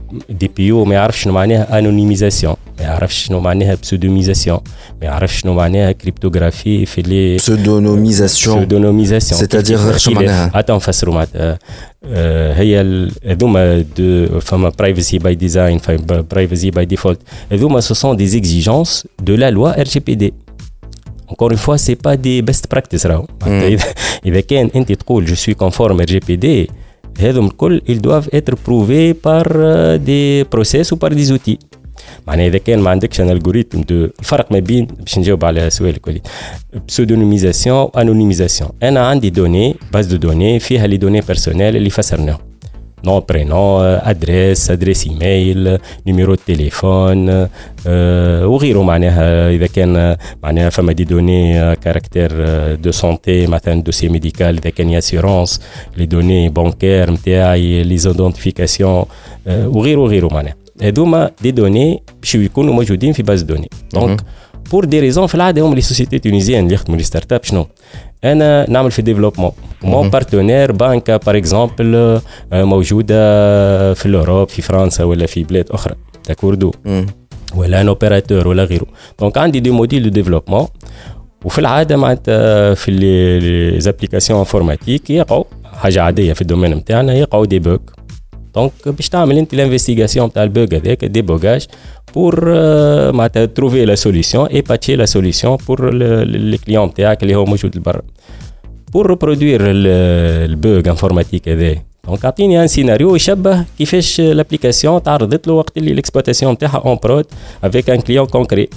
دي بي او ما يعرفش شنو معناها انونيميزاسيون، ما يعرفش شنو معناها بسودوميزاسيون، ما يعرفش شنو معناها كريبتوغرافي في لي بسودونوميزاسيون بسودونوميزاسيون سيتادير شنو معناها؟ اتون نفسروا معناتها هي هذوما دو فما برايفسي باي ديزاين برايفسي باي ديفولت، هذوما سو سون دي اكزيجونس دو لا لوا ار جي بي دي. encore une fois c'est pas des best practices راهو. اذا كان انت تقول je suis conforme ار جي بي دي هذوم الكل ils doivent être prouvés par des process ou par des outils. معناها اذا كان ما عندكش ان الجوريثم دو الفرق ما بين باش نجاوب على سؤالك وليد بسودونيميزاسيون انونيميزاسيون. انا عندي دوني باز دو دوني فيها لي دوني بيرسونيل اللي فسرناهم نو برينون ادريس ادريس ايميل نيميرو تليفون أه وغيره. معناها اذا كان معناها فما دي دوني كاركتير دو سونتي مثلا دوسي ميديكال، اذا كان اسيورونس لي دوني بانكير نتاعي لي زيدونتيفيكاسيون أه وغيره وغيره. معناها هذوما دي دوني باش يكونوا موجودين في باز دوني. دونك بور دي ريزون في العاده هم لي سوسيتي تونيزيان اللي يخدموا لي ستارت اب شنو انا نعمل في ديفلوبمون مون بارتنير بانكا بار اكزومبل موجوده في الاوروب في فرنسا ولا في بلاد اخرى تاكوردو ولا ان اوبيراتور ولا غيره. دونك عندي دي موديل دو ديفلوبمون وفي العاده معناتها في لي زابليكاسيون انفورماتيك يقعوا حاجه عاديه في الدومين نتاعنا يقعوا دي بوغ. دونك باش تعمل انت الانفستيغاسيون تاع البوغ هذاك دي بوغاج pour euh, معناتها trouver la solution et patcher la solution pour le client تاعك اللي هو موجود لبرا pour reproduire البوغ انفورماتيك هذا. دونك اعطيني ان سيناريو يشبه كيفاش لابليكاسيون تعرضت له وقت اللي الاكسبلواتاسيون تاعها اون برود افيك ان كليون كونكري.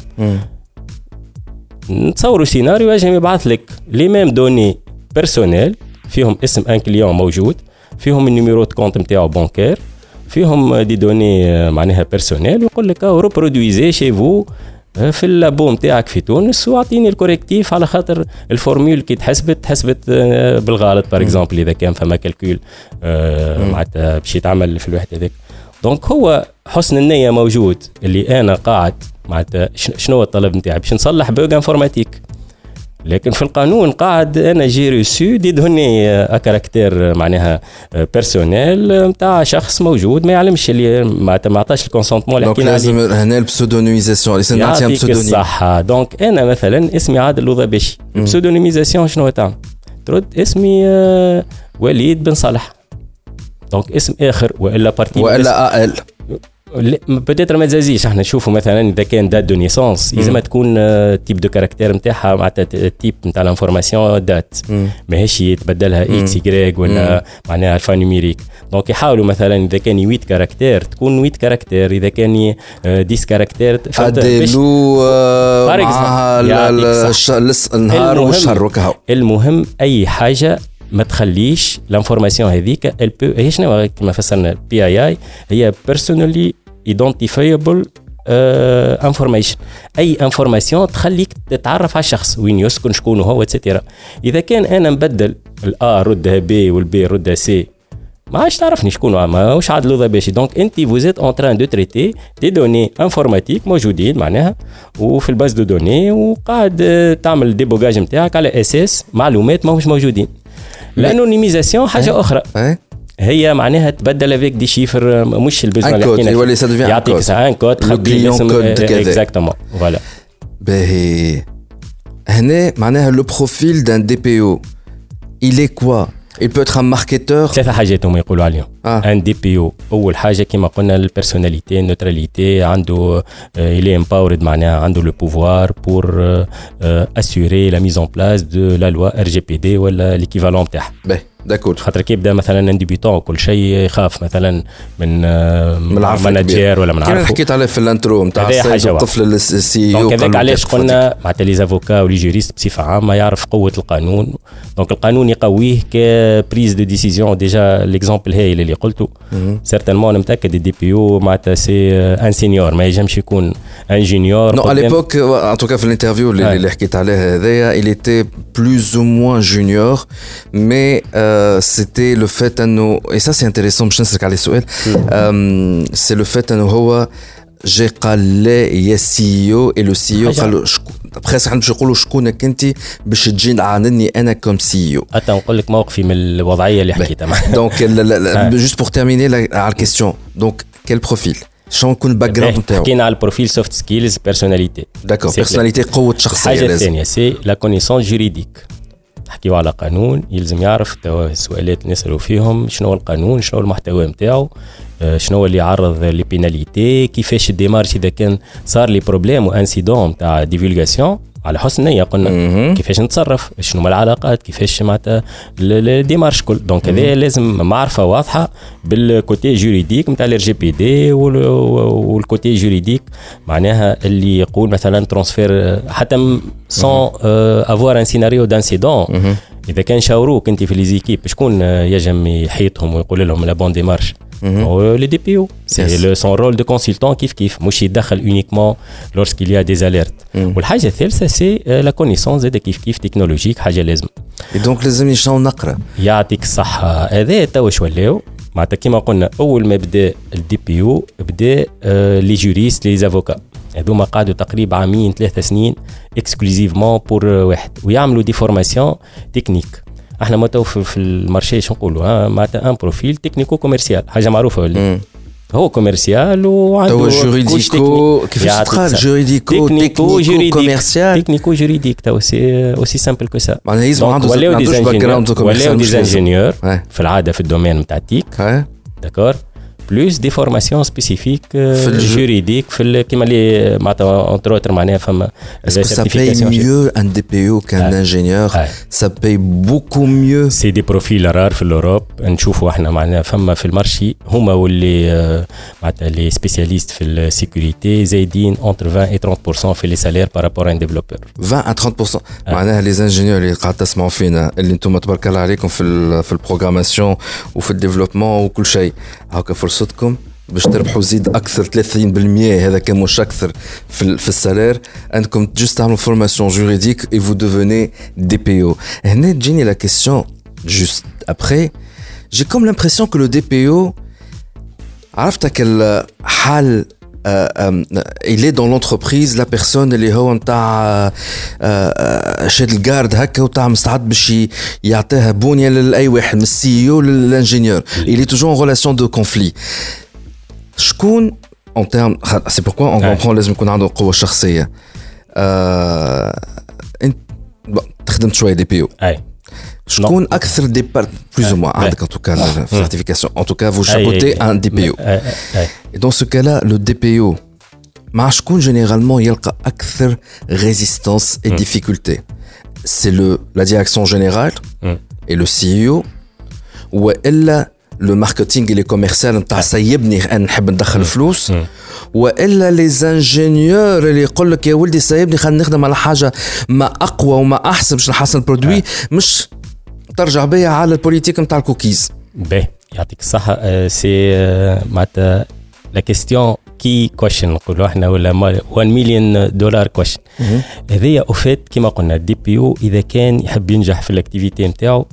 نتصوروا سيناريو يجي يبعث لك لي ميم دوني بيرسونيل فيهم اسم ان كليون موجود، فيهم النيميرو دو كونت نتاعو بانكير، فيهم دي دوني معناها بيرسونيل، ويقول لك ريبرودويزي شي فو في اللابو نتاعك في تونس واعطيني الكوريكتيف على خاطر الفورمول كي تحسبت تحسبت بالغلط بار اكزومبل اذا كان فما كالكول معناتها باش يتعمل في الوحده هذيك. دونك هو حسن النيه موجود اللي انا قاعد معناتها شنو هو الطلب نتاعي باش نصلح بوغ انفورماتيك، لكن في القانون قاعد انا جي ريسو دي دوني كاركتير معناها بيرسونيل نتاع شخص موجود ما يعلمش اللي ما عطاش الكونسونتمون اللي حكينا عليه. لازم هنا البسودونيميزاسيون اللي سنعطيها بسودونيم. صح. دونك انا مثلا اسمي عادل الوضباشي، البسودونيميزاسيون شنو تعمل؟ ترد اسمي وليد بن صالح، دونك اسم اخر والا بارتي والا ال بتاتر ما تزازيش. احنا نشوفوا مثلا اذا كان دات دو نيسونس لازم تكون تيب دو كاركتير نتاعها معناتها تيب نتاع الانفورماسيون دات ماهيش يتبدلها اكس واي ولا معناها الفا نيميريك. دونك يحاولوا مثلا اذا كان ثمانية كاركتير تكون ثمانية كاركتير، اذا كان عشرة كاركتير ادلو مع النهار والشهر وكهو. المهم اي حاجه ما تخليش الانفورماسيون هذيك البو هي شنو كما فسرنا بي اي اي هي بيرسونالي ايدنتيفايبل انفورميشن. اي انفورماسيون تخليك تتعرف على الشخص وين يسكن شكون هو اتسيتيرا. اذا كان انا نبدل الار ردها بي والبي ردها سي ما عادش تعرفني شكون ماهوش عادل الوضباشي. دونك انت فوزيت اون تران دو تريتي دي دوني انفورماتيك موجودين معناها وفي الباز دو دوني وقاعد تعمل ديبوغاج نتاعك على اساس معلومات ماهوش موجودين. الانونيميزاسيون حاجه اخرى هي معناها تبدل افيك دي شيفر مش البيزنس اللي حكينا يولي سا ديفيان يعطيك ان كود تخبي الاسم اكزاكتومون فوالا. باهي هنا معناها لو بروفيل دان دي بي او il est quoi؟ il peut être un marketeur. ثلاثة حاجات هم يقولوا عليهم. ان دي بي او اول حاجه كما قلنا البيرسوناليتي النوتراليتي عنده il est empowered معناها عنده لو بوفوار بور اسيوري لا ميز اون بلاس دو لا لوا ار جي بي دي ولا ليكيفالون تاعها. داكور. خاطر كي يبدا مثلا ان ديبيتون كل شيء يخاف مثلا من من ماناجير ولا من عارفه. كنا حكيت عليه في الانترو نتاع الطفل السي او. دونك هذاك علاش قلنا معناتها لي زافوكا ولي جوريست بصفه عامه يعرف قوه القانون. دونك القانون يقويه كبريز دو ديسيزيون. ديجا ليكزامبل هاي اللي قلته سيرتينمون انا متاكد الدي بي او معناتها سي ان سينيور ما ينجمش يكون ان جونيور. نو على ليبوك ان توكا في الانترفيو اللي, اللي حكيت عليه هذايا il était plus ou moins junior mais euh, c'était le fait انه et ça c'est intéressant باش نسلك على السؤال c'est le fait انه هو جي قال لي يا سي او اي لو سي او قالوا بريس حنا باش نقولوا شكونك انت باش تجي تعاندني انا كوم سي او. حتى نقول لك موقفي من الوضعيه اللي حكيتها. دونك جوست بور تيرميني على الكيستيون. دونك quel profil شنو يكون الباك جراوند نتاعو حكينا على البروفيل سوفت سكيلز بيرسوناليتي داكور بيرسوناليتي قوه شخصيه الحاجه الثانيه سي لا كونيسونس جوريديك نحكيو على قانون يلزم يعرف السؤالات اللي نسالوا فيهم شنو هو القانون شنو هو المحتوى نتاعو شنو هو اللي يعرض لي بيناليتي كيفاش الديمارش اذا كان صار لي بروبليم وانسيدون نتاع ديفولغاسيون على حسن نية قلنا م-م. كيفاش نتصرف شنو العلاقات كيفاش معناتها الديمارش كل دونك هذا لازم معرفه واضحه بالكوتي جوريديك نتاع الار جي بي دي والكوتي جوريديك معناها اللي يقول مثلا ترانسفير حتى سون افوار ان سيناريو دانسيدون اذا كان شاوروك انت في ليزيكيب شكون يجم يحيطهم ويقول لهم لا بون ديمارش le D P O c'est yes. le, son rôle de consultant كيف كيف مش يدخل uniquement lorsqu'il y a des alertes mm. والحاجة الثالثة c'est euh, la connaissance زاد كيف كيف تكنولوجيك حاجة لازم donc لازم يشنو نقرأ يعطيك الصحة هذا توش ولاو معناتها كيما قلنا أول ما بدأ ال D P O بدأ لي جوريست لي افوكا هذوما قعدوا تقريبا عامين ثلاثة سنين exclusivement pour واحد ويعملوا دي فورماسيون تكنيك احنا ما تو في المارشي شو نقولوا ها معناتها ان بروفيل تكنيكو كوميرسيال حاجه معروفه ولا هو كوميرسيال وعنده جوريديكو كيفاش تقال جوريديكو تكنيكو كوميرسيال تكنيكو جوريديك تو سي اوسي سامبل كو سا معناها يلزم عنده باك جراوند كوميرسيال ولا دي انجينيور في العاده في الدومين نتاع التيك داكور بلوس دي فورماسيون سبيسيفيك في الجوريديك في كيما اللي معناتها اونتر اوتر معناها فما سيرتيفيكاسيون ميو ان دي بي او كان انجينيور سا باي بوكو ميو سي دي بروفيل رار في الاوروب نشوفوا احنا معناها فما في المارشي هما واللي معناتها لي سبيسياليست في السيكوريتي زايدين اونتر عشرين و ثلاثين بالمية في لي سالير بارابور ان ديفلوبور عشرين و ثلاثين بالمية معناها لي انجينيور اللي قاعد تسمعوا فينا اللي انتم تبارك الله عليكم في في البروغراماسيون وفي الديفلوبمون وكل شيء هاكا فرصتكم باش تربحوا زيد اكثر ثلاثين بالمية هذا كان مش اكثر في في السالير انكم جوست تعملوا فورماسيون جوريديك اي فو ديفوني دي بي او هنا تجيني لا كيسيون جوست ابري جي كوم لامبرسيون كو لو دي بي او عرفتك الحال il est dans l'entreprise la personne اللي هو نتاع شاد الجارد هكا وتاع مستعد باش يعطيها بونيه لاي واحد من السي او للانجينيور il est toujours en relation de conflit شكون en terme c'est pourquoi on comprend لازم يكون عنده قوه شخصيه انت تخدم شويه دي بي او اي شكون اكثر ديبارت بلوز او موان عندك ان توكا سيرتيفيكاسيون ان توكا فو شابوتي ان دي بي او et dans ce cas là le D P O مع شكون généralement يلقى اكثر résistance et difficulté c'est le la direction générale et le C E O والا لو ماركتينغ اللي كوميرسيال نتاع سيبني انا نحب ندخل فلوس والا لي زانجينيور اللي يقول لك يا ولدي سيبني خلينا نخدم على حاجه ما اقوى وما احسن باش نحسن البرودوي مش ترجع بيا على البوليتيك نتاع الكوكيز باهي يعطيك الصحه سي معناتها لا كيستيون كي كويشن نقولوا احنا ولا واحد مليون دولار كويشن هذيا اوفيت كما قلنا الدي بي او اذا كان يحب ينجح في الاكتيفيتي نتاعو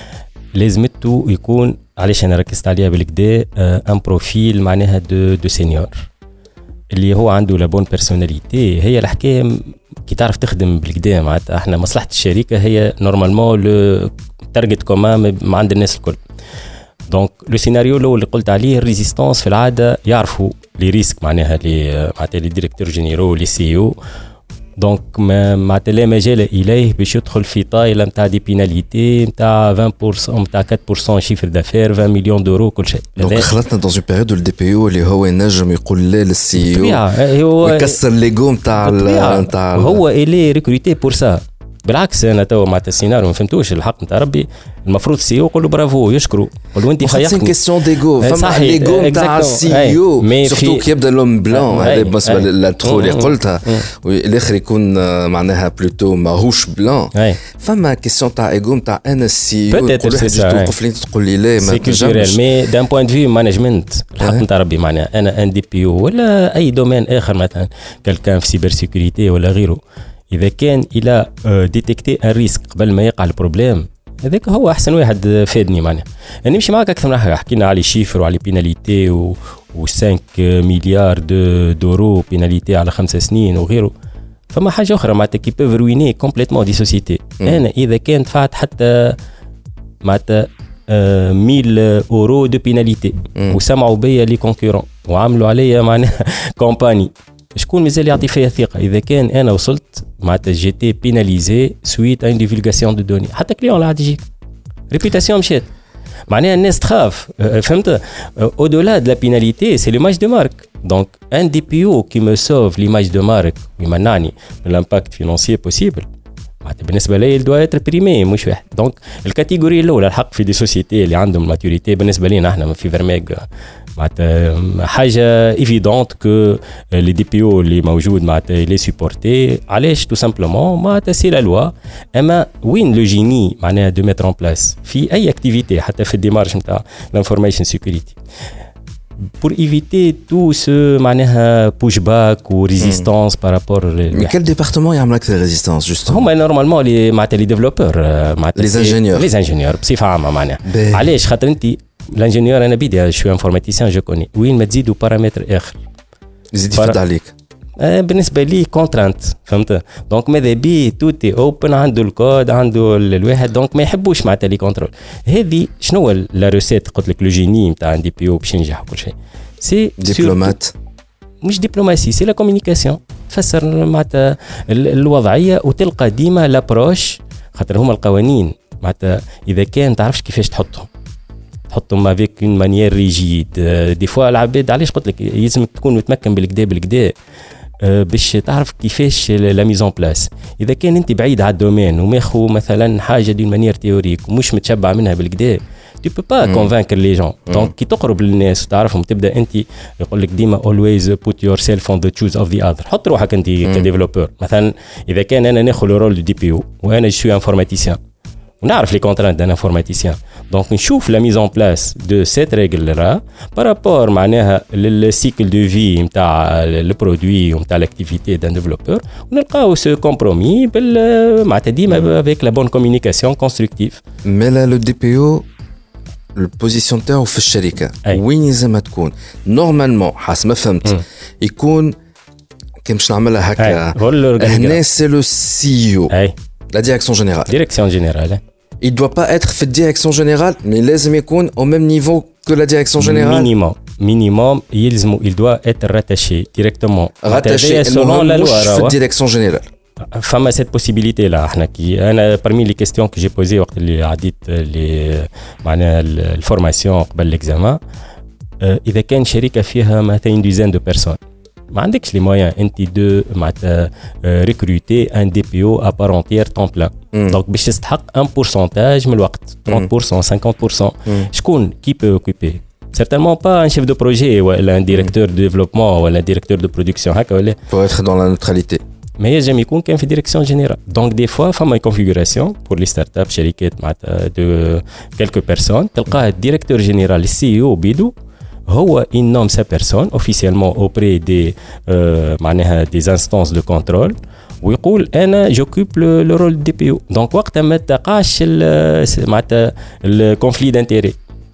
لازمته يكون علاش انا ركزت عليها بالكدا ان بروفيل معناها دو دو سينيور اللي هو عنده لا بون بيرسوناليتي هي الحكايه كي تعرف تخدم بالكدا معناتها احنا مصلحه الشركه هي نورمالمون لو تارجت كومان عند الناس الكل دونك لو سيناريو الاول اللي قلت عليه الريزيستانس في العاده يعرفوا لي ريسك معناها لي معناتها لي ديريكتور جينيرو لي سي او دونك ما معناتها لا مجال اليه باش يدخل في طايله نتاع دي بيناليتي نتاع عشرين بالمية نتاع أربعة بالمية شيفر دافير عشرين مليون دورو كل شيء دونك خلطنا دون اون بيريود الدي بي او اللي هو ينجم يقول لا للسي او ويكسر ليغو نتاع نتاع هو الي ريكروتي بور سا بالعكس انا تو مع السيناريو ما فهمتوش الحق نتاع ربي المفروض السي او يقول له برافو يشكروا يقول له انت خيرتني سي كيسيون ديغو فما ليغو نتاع السي او سورتو كي يبدا لهم بلان هذا بالنسبه للترو اللي قلتها والاخر يكون معناها بلوتو ماهوش بلان فما كيسيون تاع ايغو نتاع انا السي او كل واحد توقف لي تقول لي لا ما تنجمش مي دان بوين في مانجمنت الحق نتاع ربي معناها انا ان دي بي او ولا اي دومين اخر مثلا كالكان في سيبر سيكوريتي ولا غيره إذا كان إلى ديتكتي الريسك قبل ما يقع البروبليم هذاك هو أحسن واحد فادني معناها يعني نمشي معك أكثر من حاجة حكينا على شيفر وعلى بيناليتي و خمسة مليار دو دورو بيناليتي على خمس سنين وغيره فما حاجة أخرى معناتها كي بيف رويني كومبليتمون دي سوسيتي أنا إذا كان دفعت حتى معناتها مية أورو دو بيناليتي وسمعوا بيا لي كونكورون وعملوا عليا معناها كومباني شكون مازال يعطي فيها ثقه اذا كان انا وصلت معناتها جي تي بيناليزي سويت ان ديفولغاسيون دو دوني حتى كليون لا تجيك ريبيتاسيون مشات معناها الناس تخاف فهمت au delà de la pénalité c'est l'image de marque donc un D P O qui me sauve l'image de marque ويمنعني من l'impact financier possible بالنسبه لي doit être primé مش واحد دونك الكاتيجوري الاولى الحق في دي سوسيتي اللي عندهم ماتوريتي بالنسبه لينا احنا في فيرميغ معناتها حاجه ايفيدونت كو لي دي بي او اللي موجود معناتها لي سيبورتي علاش تو سامبلومون معناتها سي لا لوا اما وين لو جيني معناها دو ميتر اون بلاس في اي اكتيفيتي حتى في الديمارش نتاع الانفورميشن سيكوريتي pour éviter tout ce معناها push back ou résistance par rapport mais quel département يعمل أكثر résistance justement هما normalement les معناتها les développeurs les ingénieurs les ingénieurs بصفة عامة معناها علاش خاطر انت l'ingénieur انا بيدي je suis informaticien je connais وين ما تزيدوا بارامتر اخر يزيد يفرض عليك بالنسبه لي كونترانت فهمت دونك ماذا بي توتي اوبن عنده الكود عنده الواحد دونك ما يحبوش معناتها لي كونترول هذه شنو لا روسيت قلت لك لو جيني نتاع ان دي بي او باش ينجح وكل شيء سي دبلومات مش دبلوماسي سي لا كومونيكاسيون تفسر معناتها الوضعيه وتلقى ديما لابروش خاطر هما القوانين معناتها اذا كان تعرفش كيفاش تحطهم تحطهم افيك اون مانيير ريجيد دي فوا العباد علاش قلت لك يلزمك تكون متمكن بالكدا بالكدا باش تعرف كيفاش لا ميزون بلاس اذا كان انت بعيد على الدومين وماخو مثلا حاجه دي مانيير تيوريك ومش متشبع منها بالكدا tu peux pas convaincre les gens donc كي تقرب للناس وتعرفهم تبدا انت يقول لك ديما always put yourself on the shoes of the other حط روحك انت كديفلوبر مثلا اذا كان انا ناخذ الرول دو دي بي او وانا جو انفورماتيسيان ونعرف لي كونترانت دان انفورماتيسيان دونك نشوف لا ميزون بلاس دو سيت ريغل را بارابور معناها للسيكل دو في نتاع البرودوي ونتاع لاكتيفيتي دان ديفلوبور ونلقاو سو كومبرومي بال معناتها ديما افيك لا بون كومونيكاسيون كونستركتيف مي لا لو دي بي او البوزيسيون تاعو في الشركه أي. وين لازم تكون نورمالمون حسب ما فهمت يكون كي باش نعملها هكا هنا سي لو سي او la direction générale. Direction générale. Il ne doit pas être fait direction générale, mais لازم يكون au même niveau que la direction générale. Minimum. Minimum, il, il doit être rattaché directement. Rattaché selon la loi. La direction générale. فما cette possibilité là احنا كي انا parmi les questions que j'ai posées وقت اللي عديت اللي معناها الفورماسيون قبل الاكزامان اذا كان شركه فيها مثلا ديزين دو بيرسون ما عندكش لي مويان انت دو معناتها ريكروتي ان دي بي او ا بار انتيير طون بلان دونك باش تستحق ان بورسونتاج من الوقت ثلاثين بالمئة خمسين بالمئة شكون كي بو اوكوبي certainement pas un chef de projet ولا un directeur de développement ولا un directeur de production هكا ولا pour être dans la neutralité ما ينجم يكون كان في ديريكسيون جينيرال دونك دي فوا فما كونفيغوراسيون بور لي ستارت اب شركات معناتها دو كيلكو بيرسون تلقاه الديريكتور جينيرال السي او بيدو هو il nomme sa personne officiellement auprès des euh, معناها des instances de contrôle ويقول انا j'occupe le, le rôle دي بي او دونك وقتها ما تقعش معناتها الكونفلي دانتيري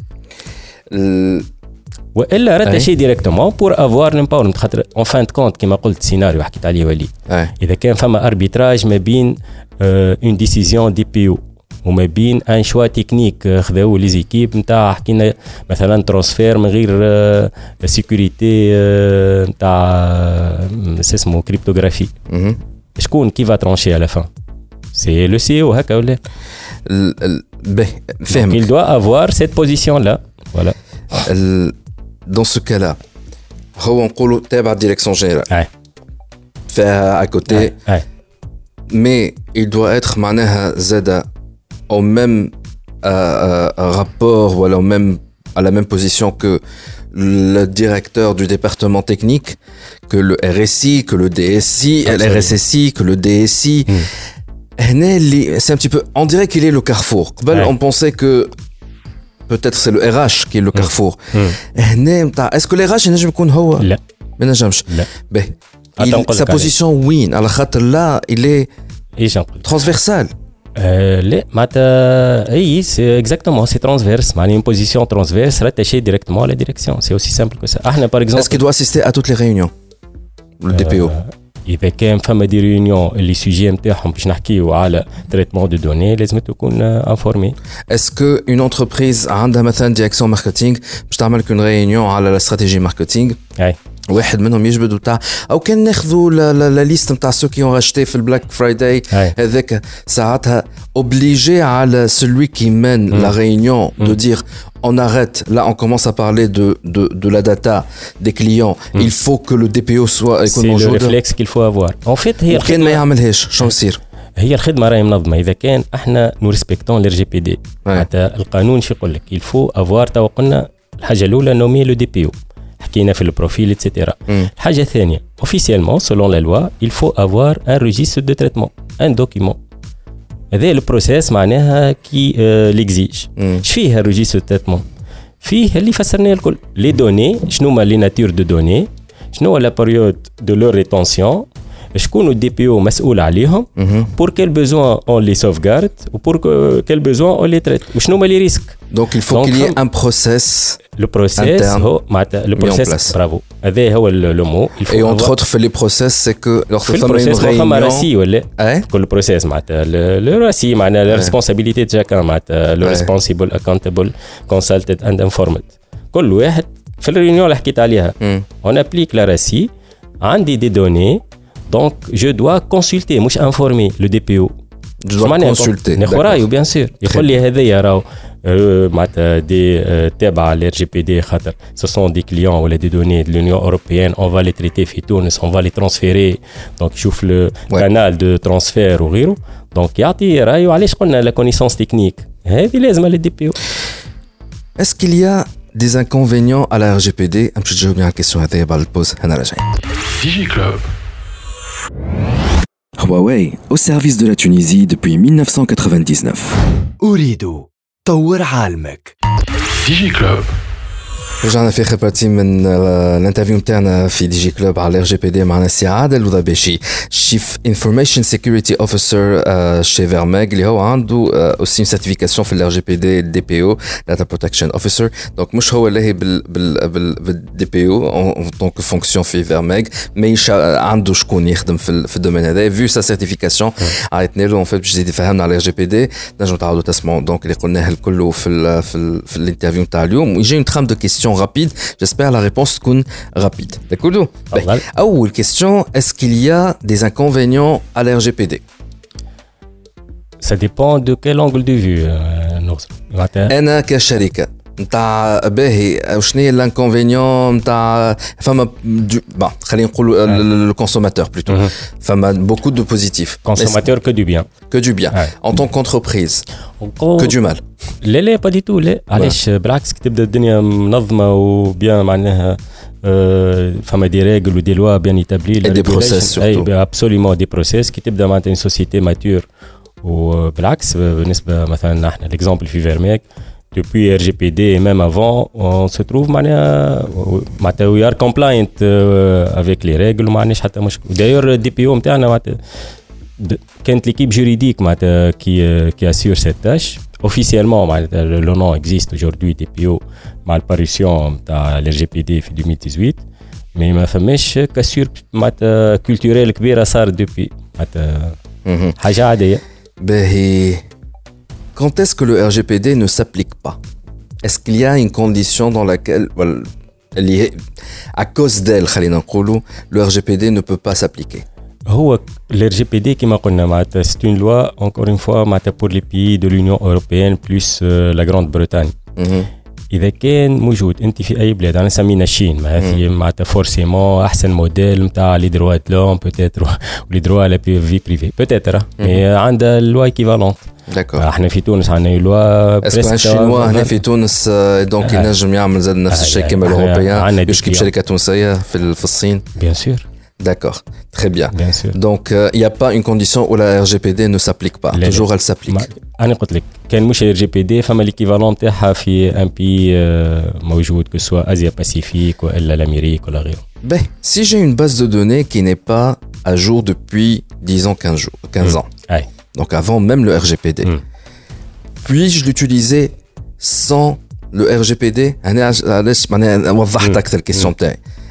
والا راتاشي ديريكتومون بور افوار لامباورمنت خاطر اون فان كونت كيما قلت سيناريو حكيت عليه وليد اذا كان فما اربيتراج ما بين اون ديسيزيون دي بي او وما بين ان شوا تكنيك خذاو لي زيكيب نتاع حكينا مثلا ترانسفير من غير سيكوريتي نتاع اسمه كريبتوغرافي شكون كي فا ترانشي على فان سي لو سي او هكا ولا به فهمك il doit avoir cette position là voilà dans ce cas là هو نقولوا تابع ديريكسيون جينيرال فيها à côté mais il doit être معناها زاده au même euh, euh, rapport ou alors même à la même position que le directeur du département technique, que le R S I, que le D S I, le R S S I, que le D S I. Mm. C'est un petit peu, on dirait qu'il est le carrefour. Ouais. On pensait que peut-être c'est le R H qui est le carrefour. Mm. Est-ce que le R H il نجم يكون هو؟ لا. ما نجمش. لا. به. Sa position وين؟ على خاطر là il est transversal. لا معناتها اي سي اكزاكتومون سي ترانسفيرس معناها une position transverse rattachée directement à la direction c'est aussi simple que ça احنا par exemple est-ce qu'il doit assister à toutes les réunions le D P O اذا كان فما دي ريونيون اللي سوجي نتاعهم باش نحكيو على تريتمون دو دوني لازم تكون انفورمي. اسكو اون انتربريز عندها مثلا ديريكسيون ماركتينغ باش تعمل كون ريونيون على لا استراتيجي ماركتينغ اي واحد منهم يجبد وتاع او كان ناخذوا لا ليست نتاع سو كي اون راشتي في البلاك فرايداي هذاك ساعتها اوبليجي على celui qui mène mm. la réunion mm. de dire on arrête là on commence à parler de de de la data des clients mm. il faut que le D P O soit c'est le réflexe qu'il faut avoir en fait هي كان ما يعملهاش شنو يصير هي الخدمه راهي منظمه اذا كان احنا نو ريسبكتون الار جي بي دي معناتها القانون شو يقول لك il faut avoir تو قلنا الحاجه الاولى نومي لو دي بي او حكينا في البروفيل ايتترا. الحاجه الثانيه officiellement selon la loi il faut avoir un registre de traitement un document هذا البروسيس معناها كي ليكزيج اش فيه الريجيستر دو تريتمون فيه اللي فسرناه الكل لي دوني شنو هما لي ناتور دو دوني شنو هو لا بيريود دو لور ريتونسيون شكون الدي بي او مسؤول عليهم بور كيل بيزوان اون لي سوفغارد وبور كيل بيزوان اون لي تريت وشنو هما لي ريسك دونك il faut qu'il y ait un process le process هو معناتها le process برافو هذا هو لو مو il faut et entre autres في لي process c'est que lors de une réunion راسي ولا كل process معناتها le راسي معناتها la responsabilité de chacun معناتها le responsible accountable consulted and informed كل واحد في الريونيون اللي حكيت عليها on applique la راسي عندي دي دوني donc je dois consulter مش informer le D P O je dois consulter نخورايو bien sûr يقول لي هذايا راهو معناتها دي تابعه للار جي بي دي خاطر ce sont des clients ولا des données de l'Union européenne on va les traiter في تونس on va les transférer donc يشوف le canal de transfert وغيره donc يعطي رايو علاش قلنا la connaissance technique هذه لازمه للدي بي او. est-ce qu'il y a des inconvénients à la R G P D باش تجاوب على الكيسيون هذه بعد البوز هنا راجعين. Digi Club. Huawei, au service de la Tunisie depuis mille neuf cent quatre-vingt-dix-neuf. أريد طور عالمك. Digi Club. رجعنا في آخر بارتي من الانترفيو نتاعنا في دي جي كلوب على ار جي بي دي معنا سي عادل الوضباشي شيف انفورميشن سيكوريتي اوفيسر شي فيرميغ اللي هو عنده اوسي سيرتيفيكاسيون في الار جي بي دي دي بي او داتا بروتكشن اوفيسر دونك مش هو اللي بال بال بالدي بي او اون طونك فونكسيون في فيرميغ مي عنده شكون يخدم في في الدومين هذا فيو سا سيرتيفيكاسيون عيطنا له اون فيت باش يزيد يفهمنا على ار جي بي دي نجموا تعاودوا تسمعوا دونك اللي قلناه الكل في ال في, ال في الانترفيو نتاع اليوم ويجي اون ترام دو كيستيون rapide. J'espère la réponse est rapide. D'accord? أول question, est-ce qu'il y a des inconvénients à la R G P D? Ça dépend de quel angle de vue. أنا كشركة نتاع باهي وشنو هي الانكونفينيون نتاع فما با خلينا نقولوا لو كونسوماتور بلوتو فما بوكو دو بوزيتيف كونسوماتور كو دو بيان كو دو بيان ان طون كونتربريز كو دو مال لا لا با دي تو لا علاش بالعكس تبدا الدنيا منظمه وبيان معناها فما دي ريغل ودي لوا بيان ايتابلي دي بروسيس اي ابسوليومون دي بروسيس كي تبدا معناتها اون سوسيتي ماتور وبالعكس بالنسبه مثلا احنا ليكزامبل في فيرميك depuis R G P D et même avant, on se trouve معناتها we are compliant avec les règles ومعناش حتى مشكل. D'ailleurs D P O نتاعنا معناتها كانت l'équipe juridique معناتها qui qui assure cette tâche. Officiellement معناتها le nom existe aujourd'hui D P O مع الparution نتاع ال R G P D في deux mille dix-huit mais ما فماش كاسور معناتها culturel كبيرة صارت depuis معناتها حاجة عادية. باهي Quand est-ce que le R G P D ne s'applique pas? Est-ce qu'il y a une condition dans laquelle, well, à cause d'elle, le R G P D ne peut pas s'appliquer? هو le R G P D كما قلنا معناتها c'est une loi encore une fois معناتها pour les pays de l'Union européenne plus euh, la Grande-Bretagne. Mm-hmm. إذا كان موجود أنت في أي بلاد أنا سمينا الصين ما هذه معناتها فورسيمون أحسن موديل نتاع لي دروا دلوم بوتيتر ولي دروا لا في بريفي بوتيتر مي عندها لوا ايكيفالونت. داكور احنا في تونس عندنا لوا بريسك الشينوا هنا في تونس دونك ينجم يعمل زاد نفس الشيء كما الاوروبيان يشكي بشركه تونسيه في في الصين بيان سور. D'accord, très bien. Bien sûr. Donc, il euh, n'y a pas une condition où la R G P D ne s'applique pas. Les Toujours, elle s'applique. أنا قلت لك كان مش R G P D فما l'équivalent تاعها في un pays موجود que soit Asia Pacifique ولا l'Amérique ولا غيره. Ben, si j'ai une base de données qui n'est pas à jour depuis disons quinze jours, quinze ans. Aye. Donc avant même le R G P D. Mm. Puis-je l'utiliser sans le R G P D? أنا علاش معناها وضحت أكثر الكيسيون تاعي.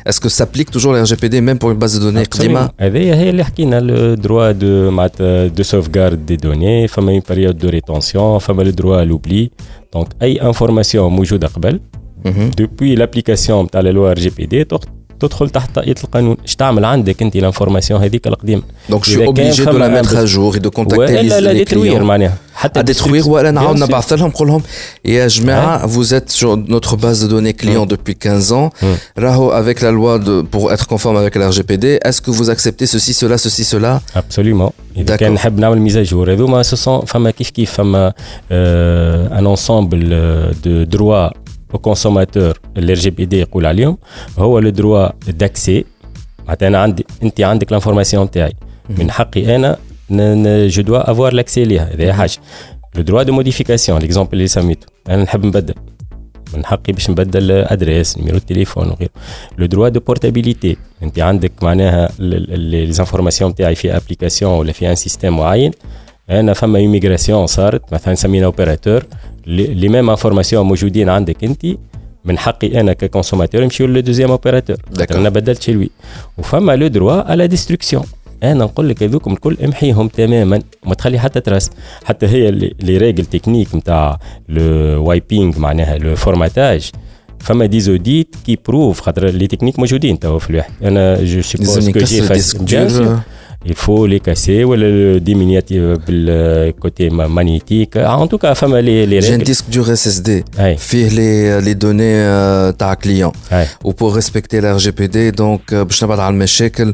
Est-ce que ça s'applique toujours le R G P D même pour une base de données قديمة؟ هذه هي اللي حكينا le droit de معناتها de sauvegarde des données, فما une période de rétention, فما le droit à l'oubli. Donc أي information موجودة قبل depuis l'application نتاع la loi R G P D تدخل تحت طاقية القانون. اش تعمل عندك انت الانفورماسيون هذيك القديمه؟ دونك جو اوبليجي دو لا ميتر ا جور دو كونتاكتي لي كليون معناها حتى ديتروير ولا نعاود نبعث لهم نقول لهم يا جماعه vous êtes sur notre base de données client depuis quinze ans راهو avec la loi de pour être conforme avec la R G P D est-ce que vous acceptez ceci cela ceci cela absolument. اذا كان نحب نعمل ميزاجور هذوما سو فما كيف كيف فما ان انسامبل دو دروا au consommateur ال R G P D يقول عليهم هو le droit d'accès. معناتها انا عندي انت عندك الانفورماسيون تاعي من حقي انا je dois avoir l'accès ليها. هذه حاجه. le droit de modification l'exemple اللي سميته انا نحب نبدل من حقي باش نبدل ادريس نيميرو التليفون وغيره. le droit de portabilité انت عندك معناها les informations تاعي في ابليكاسيون ولا في ان سيستم معين انا فما ايميغراسيون صارت مثلا سمينا اوبيراتور لي ميم انفورماسيون موجودين عندك انت من حقي انا ككونسوماتور نمشيو للدوزيام اوبيراتور انا بدلت شي لوي. وفما لو دروا على ديستركسيون انا نقول لك هذوكم الكل امحيهم تماما وما تخلي حتى تراس. حتى هي لي ريغل تكنيك نتاع لو وايبينغ معناها لو فورماتاج فما دي زوديت كي بروف خاطر لي تكنيك موجودين توا في الواحد. انا جو سوبوز كو جي فاس il faut les casser ou le diminuer le côté magnétique. En tout cas, femme les les j'ai un disque dur S S D fait les les données ta client ou pour respecter la R G P D donc باش نبعد على المشاكل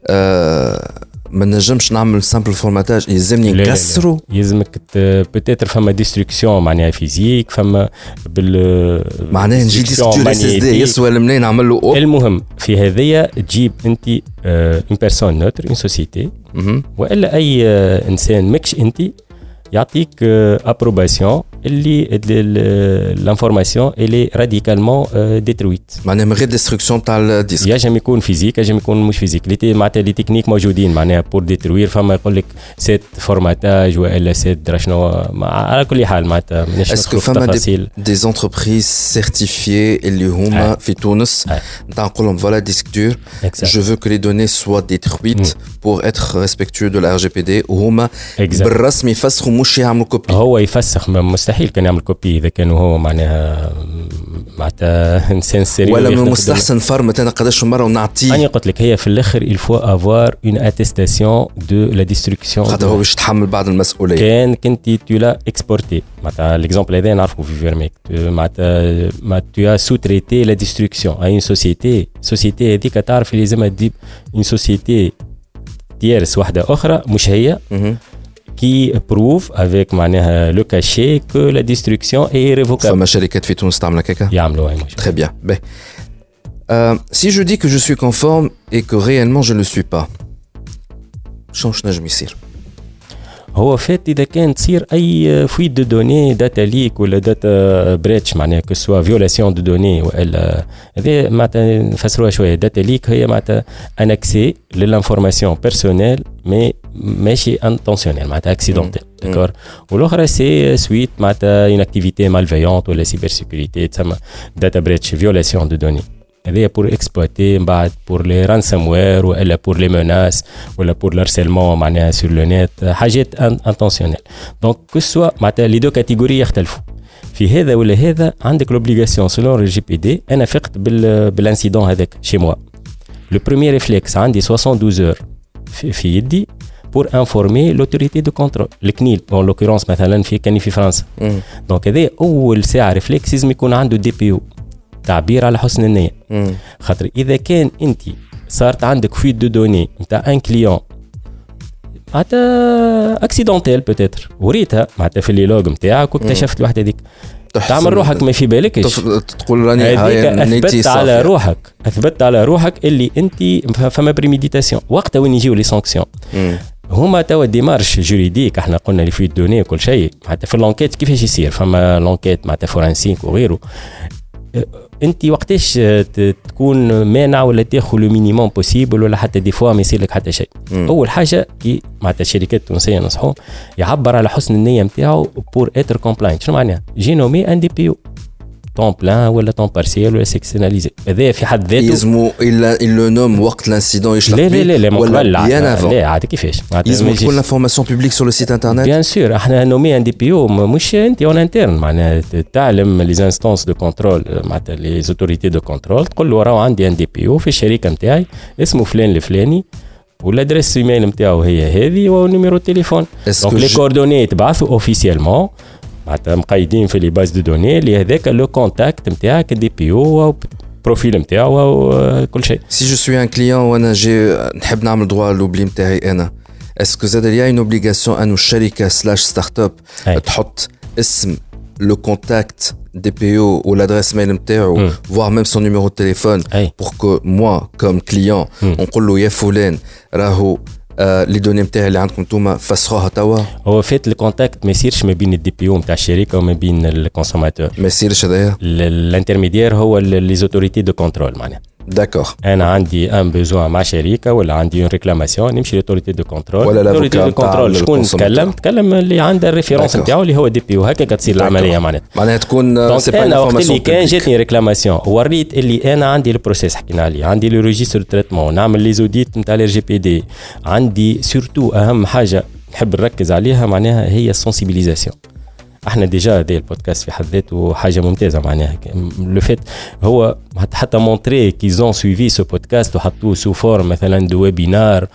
ما نجمش نعمل سامبل فورماتاج يلزمني نكسرو يلزمك بوتيتر فما ديستركسيون معناها فيزيك فما بال معناها نجي ديسك دور اس اس دي يسوى المنين نعمل له أوب. المهم في هذيا تجيب انت اون بيرسون نوتر اون سوسيتي والا اي انسان ماكش انت يعطيك ابروباسيون اللي الانفورماسيون اللي راديكالمون ديترويت معناها من غير ديستركسيون تاع الديسك. ينجم يكون فيزيك ينجم يكون مش فيزيك لي معناتها لي تكنيك موجودين معناها بور ديتروير فما يقول لك سيت فورماتاج والا سيت درا شنو على كل حال معناتها مانيش ندخل في التفاصيل. دي زونتربريز سيرتيفيي اللي هما في تونس نتاع نقول لهم فوالا ديسك دور جو فو كو لي دوني سوا ديترويت بور اتر ريسبكتوو دو لا ار جي بي دي وهما بالرسمي يفسخوا مش يعملوا كوبي. هو يفسخ مستحيل كان يعمل كوبي اذا كان هو معناها معناتها انسان سيريو ولا من المستحسن فرمت انا قداش مره ونعطيه. انا قلت لك هي في الاخر الفو افوار اون اتيستاسيون دو لا ديستركسيون خاطر هو باش يتحمل بعض المسؤوليه. كان كنت تو لا اكسبورتي معناتها ليكزامبل هذا نعرفه في فيرميك معناتها ما تو سو تريتي لا ديستركسيون اي اون سوسيتي سوسيتي هذيك تعرف لازم تجيب اون سوسيتي تيرس واحده اخرى مش هي qui prouve avec معناها le cachet que la destruction est irrévocable. فما شركات في تونس تعمل هكاكا؟ يعملوا هاي. Très bien. Ben, euh, si je dis que je suis conforme et que réellement je ne le suis pas, شنو نجم يصير؟ هو فات اذا كان تصير اي فويت دو دوني داتا ليك ولا داتا بريتش معناها كو سوا فيولاسيون دو دوني والا هذا معناتها نفسروها شويه. داتا ليك هي معناتها ان اكسي للانفورماسيون بيرسونيل مي ماشي انتونسيونيل معناتها اكسيدونتيل داكور. والاخرى سي سويت معناتها اون اكتيفيتي مالفيونت ولا سيبر سيكوريتي تسمى داتا بريتش فيولاسيون دو دوني. هذه pour exploiter بعد pour les ransomware ولا pour les menaces ولا pour l'harcèlement معناها sur le net حاجات intentionnelles. donc que soit معناتها les deux catégories يختلفوا في هذا ولا هذا عندك l'obligation selon le G P D. أنا فقت بال بالانسيدون هذاك chez moi le premier réflexe عندي soixante-douze heures في, في يدي pour informer l'autorité de contrôle الكنيل en l'occurrence مثلا في كاني في فرنسا. donc هذا أول ساعة ريفلكس لازم يكون عنده دي بي او تعبير على حسن النية. خاطر إذا كان أنت صارت عندك فيت دو دوني نتاع ان كليون معناتها اكسيدونتيل بوتيتر وريتها معناتها في اللي لوج نتاعك واكتشفت الوحده هذيك تعمل روحك ما في بالكش تقول راني اثبت على روحك اثبت على روحك اللي انت فما بريميديتاسيون. وقتها وين يجيو لي سانكسيون هما توا ديمارش جوريديك احنا قلنا لي فيت دوني وكل شيء معناتها في اللونكيت كيفاش يصير فما لونكيت معناتها فورانسيك وغيره. انت وقتاش تكون مانع ولا تاخذ لو مينيموم بوسيبل ولا حتى دي فوا ما يصير لك حتى شيء. اول حاجه كي معناتها الشركات التونسيه نصحوهم يعبر على حسن النيه نتاعو بور اتر كومبلاينت. شنو معناها؟ جي نومي ان دي بي او طون بلان ولا طون بارسيال ولا سيكسيوناليزي. هذا في حد ذاته يزمو الا لو نوم وقت الانسيدون يشلح لا لا لا لا ولا لا لا عاد كيفاش يزمو تكون لافورماسيون بوبليك سور لو سيت انترنت. بيان سور احنا نومي ان دي بي او مش انت اون انترن معناها تعلم لي انستانس دو كونترول معناتها لي زوتوريتي دو كونترول تقول له راه عندي ان دي بي او في الشركه نتاعي اسمه فلان الفلاني والادريس ايميل نتاعو هي هذه والنيميرو تليفون دونك لي كوردوني يتبعثوا اوفيسيالمون معناتها مقيدين في لي باز دو دوني اللي هذاك لو كونتاكت نتاعك دي بي او بروفيل نتاعو وكل شيء. سي جو سوي ان كليون وانا جي نحب نعمل دوا لوبلي نتاعي انا اسكو زاد ليا اون اوبليغاسيون انو الشركه سلاش ستارت اب تحط اسم le contact D P O ou l'adresse mail نتاعو mm. voire même son numéro de téléphone Aye. pour que moi comme client mm. نقول له يا فلان راهو لي دوني نتاعي اللي عندكم نتوما فسخوها توا. هو فات الكونتاكت ما يصيرش ما بين الدي بي او نتاع الشركه وما بين الكونسوماتور ما يصيرش هذايا الانترميدير هو لي زوتوريتي دو كنترول معناها داكور. انا عندي ان بيزوان مع شركه ولا عندي اون ريكلاماسيون نمشي للأوتوريتي دو كنترول ولا الأوتوريتي دو كنترول شكون تكلم تكلم اللي عنده الريفيرونس نتاعو اللي هو دي بي او هكا كتصير العمليه معناها معناها تكون سي با انا وقت اللي كان جاتني ريكلاماسيون وريت اللي انا عندي البروسيس حكينا عليه عندي لو ريجستر دو تريتمون نعمل لي زوديت نتاع الار جي بي دي عندي سورتو اهم حاجه نحب نركز عليها معناها هي السنسيبيليزاسيون. احنا ديجا هذا البودكاست في حد ذاته حاجه ممتازه معناها لو فيت هو حتى مونتري كيزون سويفي سو بودكاست وحطوه سو فورم مثلا دو ويبينار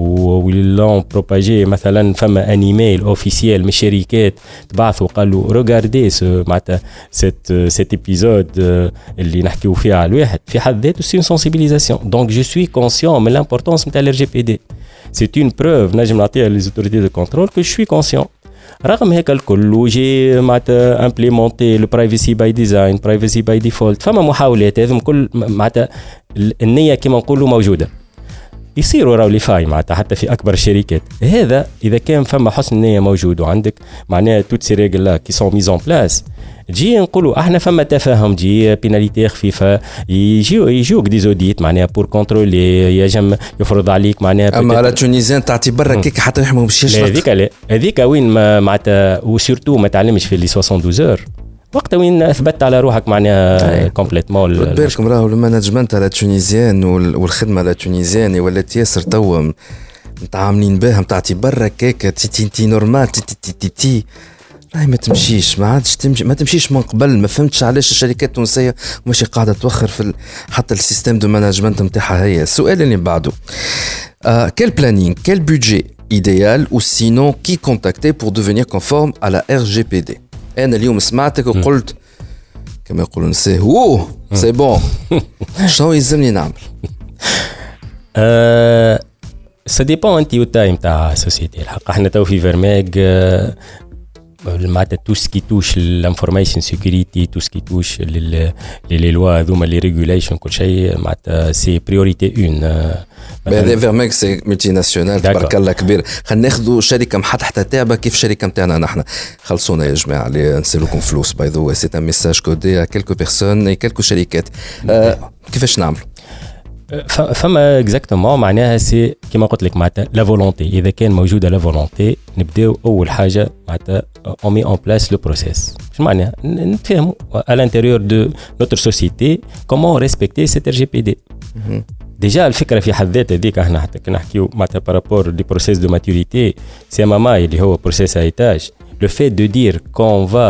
ولون بروباجي مثلا فما ان ايميل اوفيسيال من الشركات تبعثوا قالوا ريغاردي معناتها سيت سيت ايبيزود اللي نحكيو فيها على الواحد في حد ذاته سي سنسيبيليزاسيون دونك جو سوي كونسيون من لامبورطونس نتاع الار جي بي دي سي اون بروف نجم نعطيها لي زوتوريتي دو كنترول كو جو سوي كونسيون. رغم هيك الكل وجي معناتها امبليمونتي لو برايفسي باي ديزاين برايفسي باي ديفولت فما محاولات هذم كل معناتها النيه كما نقولوا موجوده يصيروا راو لي فاي معناتها حتى في اكبر الشركات. هذا اذا كان فما حسن نيه موجود وعندك معناها توت سي ريغل لا كي سون ميز اون بلاس جي نقولوا احنا فما تفاهم جي بيناليتي خفيفه يجيو يجوك دي زوديت معناها بور كونترولي يجم يفرض عليك معناها اما على تونيزيان تعطي برا كيك حتى يحموا باش يشرط هذيك لا هذيك وين معناتها وسورتو ما تعلمش في لي اثناش عشر اور وقت وين اثبتت على روحك معناها كومبليتمون. بالكم راهو المانجمنت على تونيزيان والخدمه على تونيزيان ولات ياسر توا متعاملين بها تعطي برا كيك تي تي تي نورمال تي تي تي تي راهي ما تمشيش ما عادش تمشي ما تمشيش من قبل. ما فهمتش علاش الشركات التونسيه ماشي قاعده توخر في حتى السيستم دو مانجمنت نتاعها. هي السؤال اللي بعده quel planning quel budget idéal ou sinon qui contacter pour devenir conforme à la R G P D. انا اليوم سمعتك وقلت كما يقولون سي هو سي بون شنو يلزمني نعمل؟ ا سا ديبون انت والتايم تاع سوسيتي الحق. احنا تو في فيرماج معناتها تو سكي توش الانفورميشن سيكوريتي تو سكي توش لي لي لوا هذوما لي ريغوليشن كل شيء معناتها سي بريوريتي اون. هذا فيرماك سي ملتي ناسيونال تبارك الله كبير. خلينا ناخذوا شركه محطحه تاعبه كيف الشركه نتاعنا نحن. خلصونا يا جماعه اللي نسلوكم فلوس باي ذا واي سي ان ميساج كودي ا كيلكو بيرسون اي كيلكو شركات. آه كيفاش نعملوا؟ فما اكزاكتومون معناها سي كيما قلت لك معناتها لا فولونتي. اذا كان موجوده لا فولونتي نبداو اول حاجه معناتها اون مي اون بلاس لو بروسيس. شنو معناها نفهموا à l'intérieur de notre société comment respecter cette R G P D. ديجا الفكره في حد ذاتها هذيك احنا حتى كنا نحكيو معناتها بارابور دي بروسيس دو ماتوريتي سي ام ام اي اللي هو بروسيس ايتاج. Le fait de dire qu'on va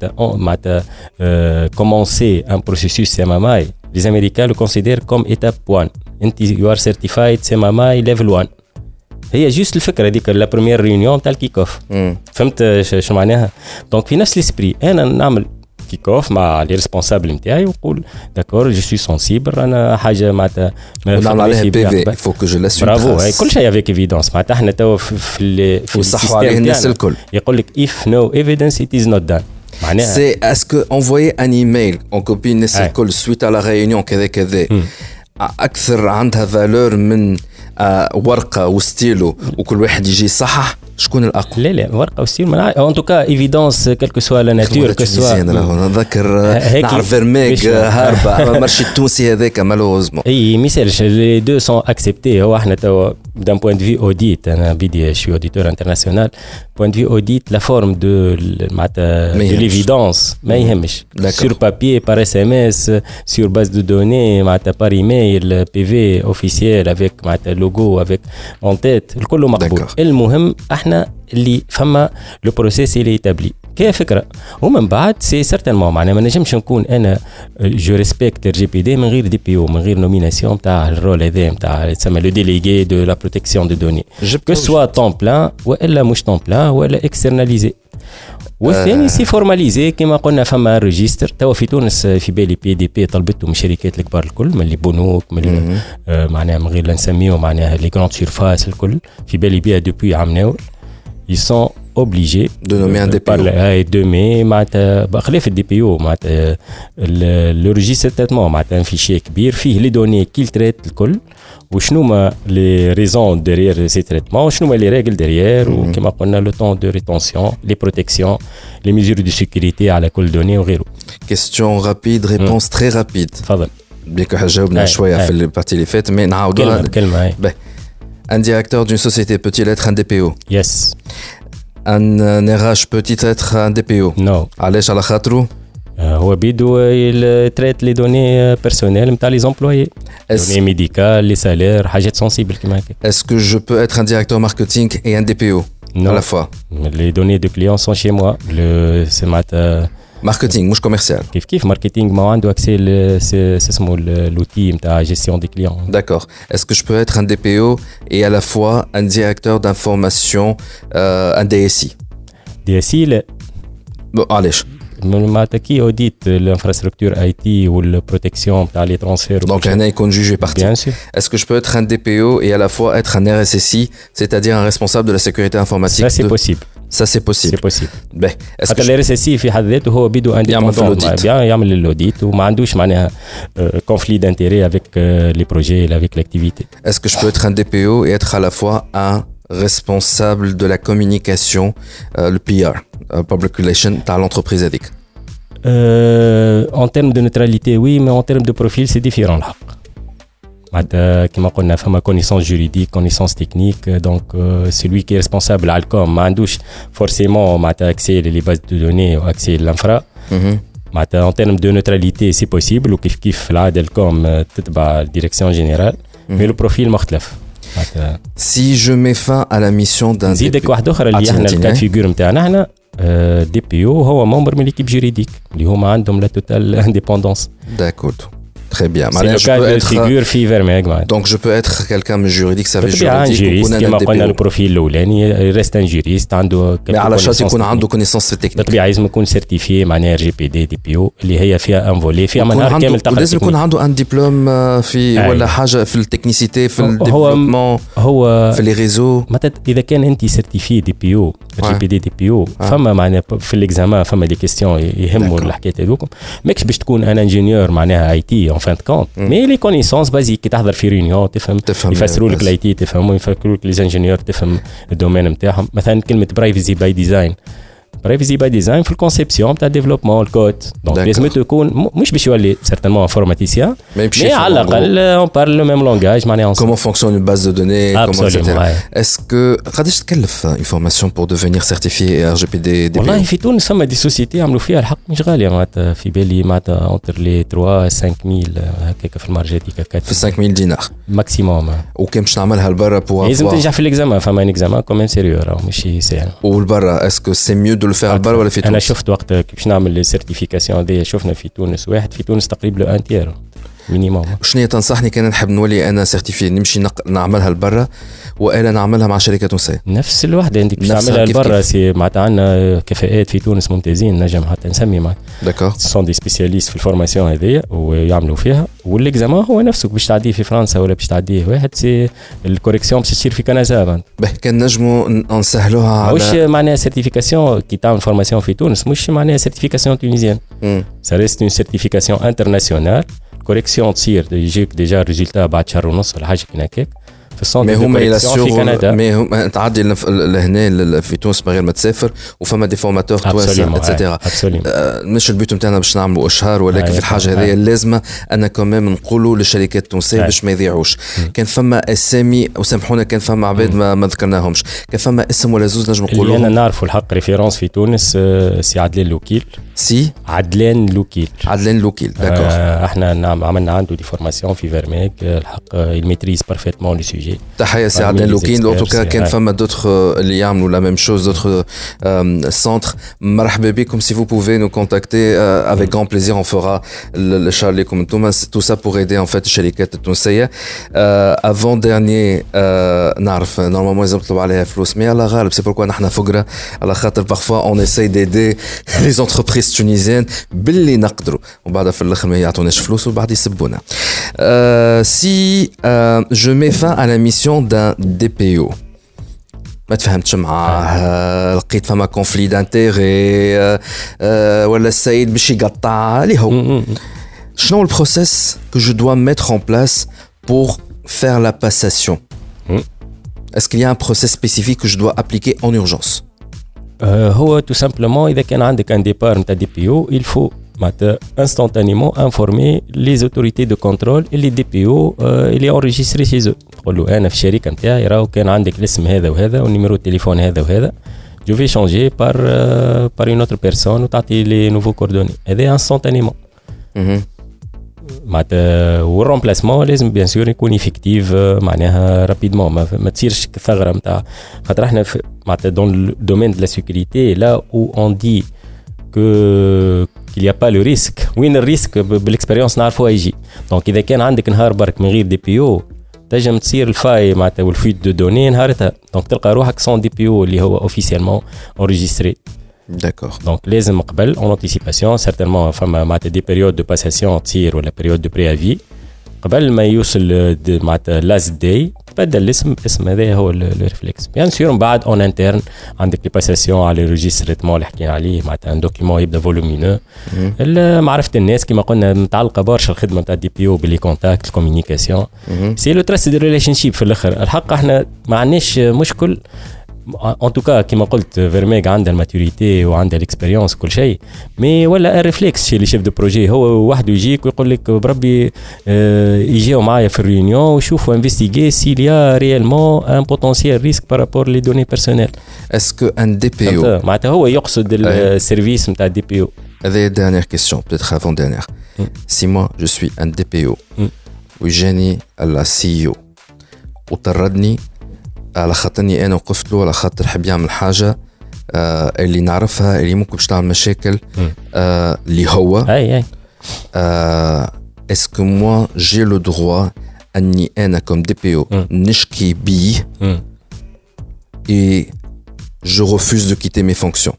euh, commencer un processus C M M I, les Américains le considèrent comme étape one. You are certified C M M I level one. هي جوست الفكرة ديك لا بروميير ريونيون تاع الكيك اوف. فهمت شو معناها؟ دونك في نفس الاسبري انا نعمل كيك اوف مع لي ريسبونسابل نتاعي ونقول داكور جو سوي سونسيبل انا حاجه معناتها نعمل عليها بي في فو كو جو لا سوي برافو هاي كل شيء افيك ايفيدونس معناتها احنا توا في في السيستم عليه الناس الكل يقول لك if no evidence it is not done. معناها سي اسكو انفويي ان ايميل اون كوبي الناس الكل سويت على ريونيون كذا كذا اكثر عندها فالور من ورقه وستيلو وكل واحد يجي صحح شكون الاقوى؟ لا لا ورقه وستيلو ان توكا ايفيدونس كلكو سوا لا ناتور كسوا نذكر نعرف فيرميك هاربه اما المارشي التونسي هذاك مالوزمون اي ميسالش لي دو سون اكسبتي. هو احنا توا d'un point de vue audit, hein, je suis auditeur international, point de vue audit, la forme de, de l'évidence, mm-hmm. sur papier, par S M S, sur base de données, par email, P V officiel avec le logo, avec en tête, le كله مقبول. المهم احنا اللي فما لو بروسيس اللي يتابلي كيف فكره ومن بعد سي سيرتينمون معناها ما نجمش نكون انا جو ريسبكت الجي بي دي من غير دي بي او من غير نوميناسيون تاع الرول هذا نتاع يسمى لو ديليغي دو لا بروتيكسيون دو دوني كو سوا طون بلان والا مش طون بلان ولا اكسترناليزي والثاني سي فورماليزي كما قلنا فما ريجستر توا في تونس في بالي بي دي بي طلبته من الشركات الكبار الكل من اللي بنوك من آه معناها من غير لا نسميو معناها لي غراند سيرفاس الكل في بالي بها دوبوي عام ils sont obligés de nommer un D P O et de mais معناتها بخلاف الدي بي او معناتها لو ريجستر تريتمون معناتها فيشي كبير فيه لي دوني كيل تريت الكل وشنو ما لي ريزون ديريير سي تريتمون وشنو ما لي ريغل ديريير وكما قلنا لو طون دو ريتونسيون لي بروتيكسيون لي ميزور دو سيكوريتي على كل دوني وغيره. كيستيون رابيد ريبونس تري رابيد. تفضل. بيك جاوبنا شويه في البارتي اللي فات مي نعاودوا كلمه كلمه. Un directeur d'une société peut-il être un D P O? Yes. Un, un R H peut-il être un D P O? No. علاش على خاطرو؟ هو بيدو يتريت لي دوني بيرسونيل نتاع لي زومبلويي دوني ميديكال لي سالير حاجات سنسيبل كيما هكا. Est-ce que je peux être un directeur marketing et un D P O non. à la fois? Les données de clients sont chez moi. Le c'est معناتها ماركتينغ مش كوميرسيال. كيف كيف ماركتينغ ما عنده اكسي سي اسمه لوتي نتاع جيستيون دي كليون. D'accord. Est-ce que je peux être un D P O et à la fois un directeur d'information euh, un D S I? D S I لا. Bon, علاش؟ معناتها كي اوديت الانفراستركتور اي تي والبروتيكسيون تاع لي ترانسفير. Donc هنا يكون جوجي بارتي. Bien sûr. Est-ce que je peux être un D P O et à la fois être un R S S I, c'est-à-dire un responsable de la sécurité informatique? Ça c'est de... possible. Ça c'est possible. C'est possible. Ben, est-ce حتى الار اس اس سي في حد ذاته هو بيدو انديبندون بيان يعمل الاوديت وما عندوش معناها كونفلي دانتيري افيك لي بروجي افيك لاكتيفيتي. Est-ce que je peux être un D P O et être à la fois un responsable de la communication, euh, le P R, uh, public relation تاع l'entreprise هذيك؟ En termes de neutralité, oui, mais en termes de profil, c'est différent. Comme on a fait ma connaissance juridique, connaissance technique, donc euh, celui qui est responsable à l'Alcom, mandouche forcément accès les bases de données ou accès à l'infra. Mm-hmm. En termes de neutralité, c'est possible, ou kif kif là, d'Alcom, la direction générale, mm-hmm. mais le profil مختلف. Si je mets fin à la mission d'un D P O, واحد اخر اللي احنا الكاد فيغور نتاعنا احنا دي بي او هو ممبر من ليكيب جوريديك اللي هما عندهم لا توتال انديبوندونس. D'accord. Très bien. C'est le cas de figure في Vermeeg. Donc je peux être quelqu'un de juridique, ça veut dire juriste كما قلنا البروفيل الاولاني ريست ان جوريست عنده mais على شرط يكون عنده كونيسونس تكنيك. بالطبيعه لازم يكون سيرتيفيي معناها جي بي دي دي بي او اللي هي فيها ان فولي فيها منهار كامل تقرا. لازم يكون عنده ان دبلوم في ولا حاجه في التكنيسيتي في الديفلوبمون هو في لي ريزو. مثلا اذا كان انت سيرتيفي دي بي او جي بي دي دي بي او فما معناها في الاكزامان فما دي كيستيون يهموا الحكايه هذوك ماكش باش تكون ان انجينيور معناها اي تي اون فان كونت مي لي كونيسونس بازيك كي تحضر في ريونيون تفهم, تفهم يفسروا لك الاي تي تفهم يفكروا لك لي انجينيور تفهم الدومين نتاعهم. مثلا كلمه برايفسي باي ديزاين برايفسي باي ديزاين في الكونسيبسيون تاع ديفلوبمون الكود دونك لازم تكون مش باش يولي سيرتينمون انفورماتيسيان مي على الاقل اون بارل لو ميم لونغاج معناها كومون فونكسيون اون باز دو دوني كومون سيتيرا. اسكو قداش تكلف اون فورماسيون بور ديفينير سيرتيفيي ار جي بي دي دي والله في تونس فما دي سوسيتي عملوا فيها الحق مش غاليه معناتها في بالي معناتها اونتر لي ثلاثة خمسة ألف هكاك في المارجات هكاك في خمسة آلاف دينار ماكسيموم. وكان باش نعملها لبرا بور لازم تنجح في الاكزامان فما ان اكزامان كوميم سيريو راه ماشي سهل. والبرا اسكو سي ميو دو لو فير لبرا ولا في انا شفت وقت باش نعمل السيرتيفيكاسيون هذه شفنا في تونس واحد في تونس تقريبا لو ان تير مينيموم. شنو تنصحني كان نحب نولي انا سيرتيفي نمشي نق... نعملها لبرا والا نعملها مع شركه تونسيه؟ نفس الوحده انت باش تعملها لبرا سي معناتها عندنا كفاءات في تونس ممتازين نجم حتى نسمي معك داكور سون دي سبيسياليست في الفورماسيون هذيا ويعملوا فيها والاكزامان هو نفسه باش تعديه في فرنسا ولا باش تعديه واحد سي الكوريكسيون باش تصير في كندا. به كان نجموا نسهلوها على مش معناها سيرتيفيكاسيون كي تعمل فورماسيون في تونس مش معناها سيرتيفيكاسيون تونيزيان سا ريست اون سيرتيفيكاسيون انترناسيونال كوريكسيون تصير يجيك ديجا الريزلتا بعد شهر ونص ولا حاجه كيما هكاك في السنتر مي هما في كندا. مي هما تعدي لهنا في تونس من غير ما تسافر وفما دي فورماتور تواسع اتسيتيرا. مش البيوت نتاعنا باش نعملوا اشهار ولكن في الحاجه هذه اللازمه انا كمان نقولوا للشركات التونسيه باش ما يضيعوش. كان فما اسامي وسامحونا كان فما عباد ما, ما ذكرناهمش، كان فما اسم ولا زوز نجم نقولوا انا نعرفوا الحق ريفيرونس في تونس سي عدلان لوكيل. سي عدلان لوكيل. عدلان لوكيل داكور. آه احنا نعم عملنا عنده دي فورماسيون في فيرميك الحق الميتريز بارفيتمون لو سوجي. تحيه سي عدلان لوكيل. ان توكا كان فما دوتر اللي يعملوا لا ميم شوز دوتر سنتر. مرحبا بكم. سي فو بوفي نو كونتاكتي افيك غران بليزير اون فورا الشغل لكم انتم تو سا بور ايدي ان فيت الشركات التونسيه. افون ديرني نعرف نورمالمون لازم نطلب عليها فلوس مي على غالب سي بوركوا نحن فقره على خاطر بارفوا اون اساي ديدي لي زونتربريز تونيزيان باللي نقدروا وبعدها في الاخر ما يعطوناش فلوس وبعد يسبونا. سي جو مي فان على ميسيون دان دي بي او ما تفهمتش معاه لقيت فما كونفلي دانتيغي ولا السيد باش يقطع اللي هو شنو البروسيس que je dois mettre en place pour faire la passation? Est-ce qu'il y a un process spécifique que je dois appliquer en urgence? هو tout simplement إذا كان عندك un départ نتاع دي بي او il faut معناتها instantanément informer les autorités de contrôle اللي دي بي او اللي enregistré chez eux. تقول له أنا في الشركة نتاعي راهو كان عندك الاسم هذا وهذا والنيميرو التليفون هذا وهذا je vais changer par par une autre personne وتعطي les nouveaux coordonnées. هذا instantanément. معناتها والرومبلاسمون لازم بيان سور يكون افكتيف معناها رابيدمون ما, ما تصيرش ثغره نتاع خاطر احنا معناتها دون لو دومين دو لا سيكوريتي لا او اون دي كو qu'il y a pas le risque. وين الريسك بالاكسبيريونس نعرفوا يجي. دونك اذا كان عندك نهار برك من غير دي بي او تنجم تصير الفاي معناتها والفيت دو دوني نهارتها. دونك تلقى روحك سون دي بي او اللي هو اوفيسيالمون انريجستري. D'accord. Donc لازم قبل en anticipation certainement فما معناتها دي périodes de passation تصير ولا période de préavis قبل ما يوصل معناتها last day بدل الاسم اسم هذا هو الريفلكس. بيان سور من بعد اون انترن عندك لي باساسيون على الريجستريتمون اللي حكينا عليه معناتها ان دوكيومون يبدا فولومينو معرفه الناس كما قلنا متعلقه برشا الخدمه نتاع الدي بي او باللي كونتاكت الكوميونيكاسيون سي لو تراست دو ريليشن شيب في الاخر. الحق احنا ما عندناش مشكل en tout cas كما قلت فيرميغ عندها الماتوريتي وعندها الاكسبيريونس كل شيء مي ولا الريفلكس شي لي شيف دو بروجي هو وحده يجيك ويقول لك بربي اه يجيو معايا في الريونيون ويشوفوا انفستيغي سيل يا ريالمون ان بوتنسيال ريسك بارابور لي دوني بيرسونيل. اسكو ان دي بي او معناتها هو يقصد السيرفيس نتاع الدي بي او. هذه dernière question peut-être avant dernière. Si moi je suis un دي بي او ويجاني السي او وطردني على خاطرني انا وقفت له على خاطر حب يعمل حاجه آه اللي نعرفها اللي ممكن باش تعمل مشاكل آه اللي هو اي اي اسكو موا جي لو دروا اني انا كوم دي بي او نشكي بيه اي جو ريفوز دو كيتي مي فونكسيون.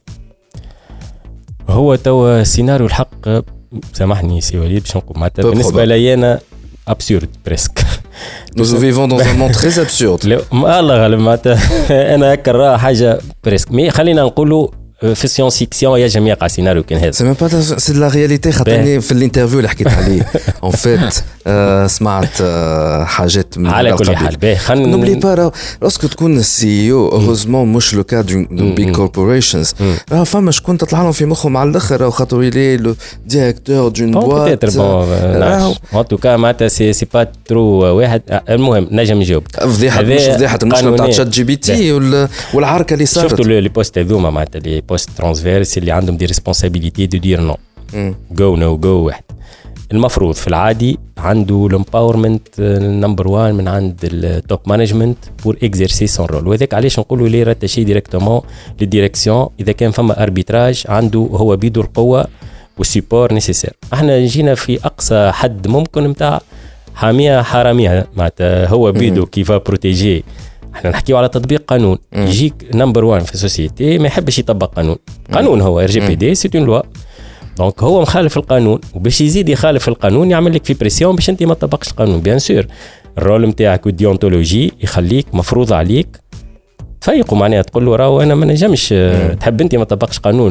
هو توا سيناريو الحق سامحني سي وليد باش نقول معناتها بالنسبه لي انا absurde presque. Nous vivons dans un monde très absurde. الله غالب معناتها انا هكا راه حاجه بريسك مي خلينا نقولوا في السيونس فيكسيون ينجم يقع سيناريو كان هذا. سي ميم با سي لا رياليتي خاطرني في الانترفيو اللي حكيت عليه اون فيت سمعت حاجات من على كل حال باهي خلينا نوبلي با لاسكو تكون السي او اوروزمون مش لو كا دون بيج كوربوريشنز راه فما شكون تطلع لهم في مخهم على الاخر خاطر يلي لو ديريكتور دون بوات ان توكا معناتها سي سي با ترو واحد. المهم نجم نجاوب فضيحه مش فضيحه المشكله تاع تشات جي بي تي والعركه اللي صارت. شفتوا لي بوست هذوما معناتها لي بوست ترانسفيرس اللي عندهم دي ريسبونسابيلتي دو دير نو جو نو جو واحد. المفروض في العادي عنده الامباورمنت نمبر واحد من عند التوب مانجمنت بور اكزيرسي سون رول وذاك علاش نقولوا لي راتاشي ديريكتومون للديريكسيون اذا كان فما اربيتراج عنده هو بيدو القوه والسيبور نيسيسير. احنا جينا في اقصى حد ممكن نتاع حاميه حراميه معناتها هو بيدو كيفا بروتيجي. احنا نحكيو على تطبيق قانون يجيك نمبر واحد في السوسيتي ما يحبش يطبق قانون. قانون هو ار جي بي دي سي اون لوا دونك هو مخالف القانون وباش يزيد يخالف القانون يعمل لك في بريسيون باش انت ما تطبقش القانون. بيان سور الرول نتاعك والديونتولوجي يخليك مفروض عليك فيقوا معناها تقول له راهو انا ما نجمش تحب انت ما تطبقش قانون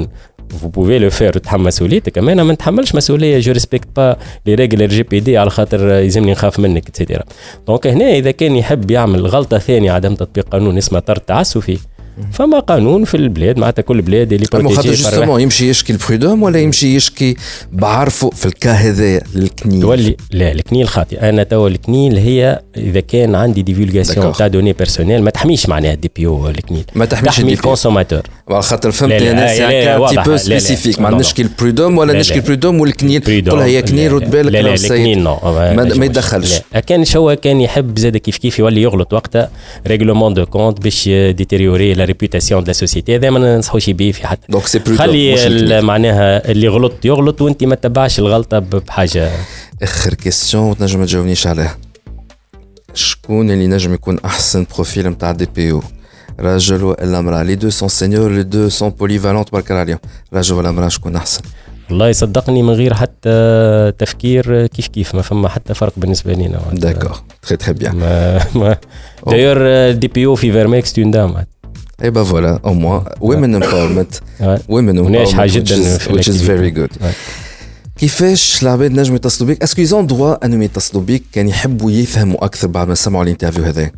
vous pouvez le faire تتحمل مسؤوليتك. اما انا ما نتحملش مسؤوليه جو ريسبكت با لي ريغل الجي بي دي على خاطر يلزمني نخاف منك اتسيتيرا. دونك هنا اذا كان يحب يعمل غلطه ثانيه عدم تطبيق قانون اسمه طرد تعسفي فما قانون في البلاد معناتها كل بلاد اللي بروتيجي خاطر جوستومون يمشي يشكي البرودوم ولا يمشي يشكي بعرفه في الكا هذا للكنيل تولي لا الكنيل خاطئ. انا توا الكنيل هي اذا كان عندي ديفولغاسيون تاع دوني بيرسونيل ما تحميش معناها دي بي او الكنيل ما تحميش تحمي الكونسوماتور على خاطر فهمت انا سي ان تي بو سبيسيفيك ما نشكي البرودوم ولا نشكي البرودوم والكنيل كلها هي كنيل رد بالك لا لا الكنيل نو ما يدخلش. كان شو كان يحب زاد كيف كيف يولي يغلط وقتها ريغلومون دو كونت باش ديتيريوري لا ريبوتاسيون دو سوسيتي هذا ما ننصحوش بيه في حتى. دونك سي برودوم خلي معناها اللي غلط يغلط وانت ما تتبعش الغلطه بحاجه. اخر كيستيون تنجم ما تجاوبنيش عليها. شكون اللي نجم يكون احسن بروفيل نتاع دي بي او راجل ولا امراه؟ لي دو سون سينيور لي دو سون بوليفالونت برك عليهم. راجل ولا امراه شكون احسن؟ والله يصدقني من غير حتى تفكير كيف كيف ما فما حتى فرق بالنسبه لينا. داكور تري تري بيان. داير دي بي او في فيرميك ستون دام. اي با فوالا او موان ويمن امباورمنت ويمن امباورمنت جدا which is very good. كيفاش العباد نجموا يتصلوا بك؟ اسكو يزون دروا انهم يتصلوا بك كان يحبوا يفهموا اكثر بعد ما سمعوا الانترفيو هذا؟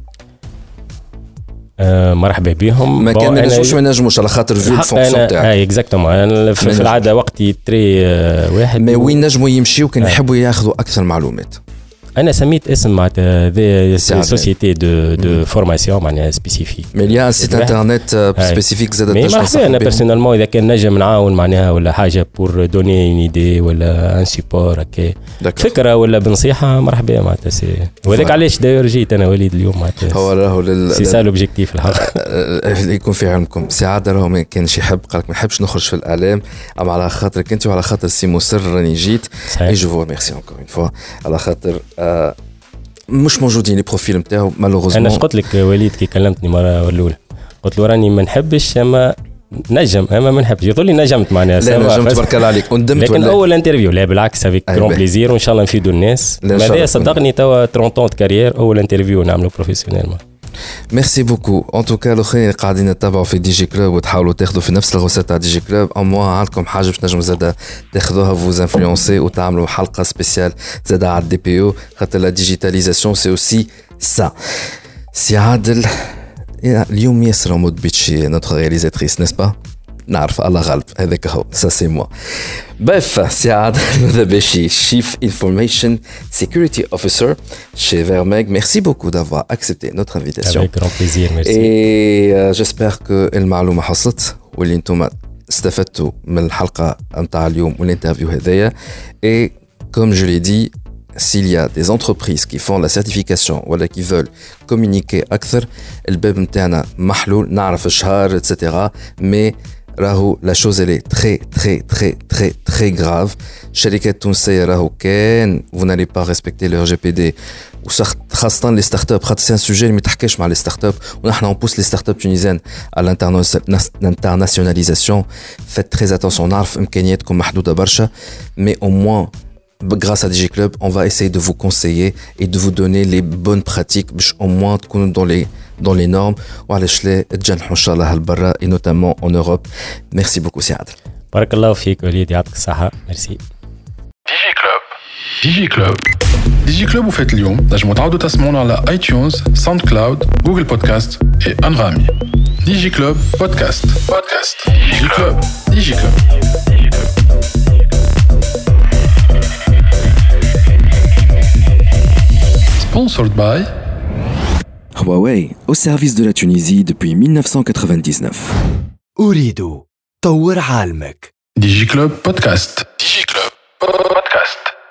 آه مرحبا بهم. ما كان نجموش ما نجموش على خاطر في الفونكسيون تاعك. اي اكزاكتومون في العاده وقتي تري آه واحد. ما وين نجموا يمشيو كان يحبوا ياخذوا اكثر معلومات؟ انا سميت اسم معناتها ذي سوسيتي دو دو فورماسيون معناها سبيسيفيك. مي ليا سيت انترنت سبيسيفيك زاد تنجم مرحبا. انا بيرسونيلمون اذا كان نجم نعاون معناها ولا حاجه بور دوني اون ايدي ولا ان سيبور هكا فكره ولا بنصيحه مرحبا معناتها سي. وهذاك علاش داير جيت انا وليد اليوم معناتها هو راهو سي سا لوبجيكتيف الحق. يكون في علمكم سعاده راهو ما كانش يحب قال لك ما نحبش نخرج في الاعلام اما على خاطرك انت وعلى خاطر سي مصر راني جيت. اي جو فو ميرسي انكور اون فوا على خاطر آه مش موجودين لي بروفيل نتاعو مالوغوزمون. انا قلت لك وليد كي كلمتني مره الاولى قلت له راني ما نحبش اما نجم اما ما نحبش يقول لي نجمت معناها. لا نجمت تبارك الله عليك وندمت لكن اول انترفيو لا بالعكس افيك كرون بليزير وان شاء الله نفيدوا الناس. هذا صدقني توا ثلاثين ans كارير اول انترفيو نعملو بروفيسيونيلمون. ميرسي بوكو. ان توكا الاخرين اللي قاعدين يتابعوا في دي جي كلوب وتحاولوا تاخذوا في نفس الغوسات تاع دي جي كلوب او موا عندكم حاجه باش نجم زاده تاخذوها فوز انفلونسي وتعملوا حلقه سبيسيال زاده على الدي بي او خاطر لا ديجيتاليزاسيون سي اوسي سا. سي عادل اليوم ياسر مود بيتشي نوتر رياليزاتريس نيس با نعرف الله غالب هذاك هو سا سي موا. Bref, c'est Adel Dabeshi, Chief Information Security Officer chez Vermeg. Merci beaucoup d'avoir accepté notre invitation. Avec grand plaisir, merci. Et euh, j'espère que المعلومة حصلت واللي انتم استفدتوا من الحلقة متاع اليوم والانترفيو هذايا. Et comme je l'ai dit, s'il y a des entreprises qui font la certification ou qui veulent communiquer أكثر الباب متاعنا محلول نعرف الشهر et cetera. Mais راهو لا شوز اللي تري تري تري تري تري غراف. الشركات التونسيه راهو كان vous n'allez pas respecter le R G P D وخاصه لي ستارت اب خاطر سي ان سوجي اللي ما تحكيش مع لي ستارت اب ونحن نبوس لي ستارت اب تونيزيان على الانترناسيوناليزاسيون. فيت تري اتونسيون نعرف امكانياتكم محدوده برشا مي au moins grâce à D G Club on va essayer de vous conseiller et de vous donner les bonnes pratiques باش au moins تكونوا dans les dans les normes وعلاش لا تجنحوا ان شاء الله لبرا et notamment en Europe. Merci beaucoup سي عادل. بارك الله فيك وليد يعطيك الصحة. ميرسي. دي جي كلوب دي جي كلوب دي جي كلوب وفات اليوم نجموا تعاودوا تسمعونا على اي تيونز ساوند كلاود جوجل بودكاست اي انغامي. دي جي كلوب بودكاست بودكاست دي جي كلوب دي جي كلوب. Sponsored by Huawei, au service de la Tunisie depuis mille neuf cent quatre-vingt-dix-neuf. أريد طور عالمك. دي جي كلوب بودكاست دي جي كلوب بودكاست.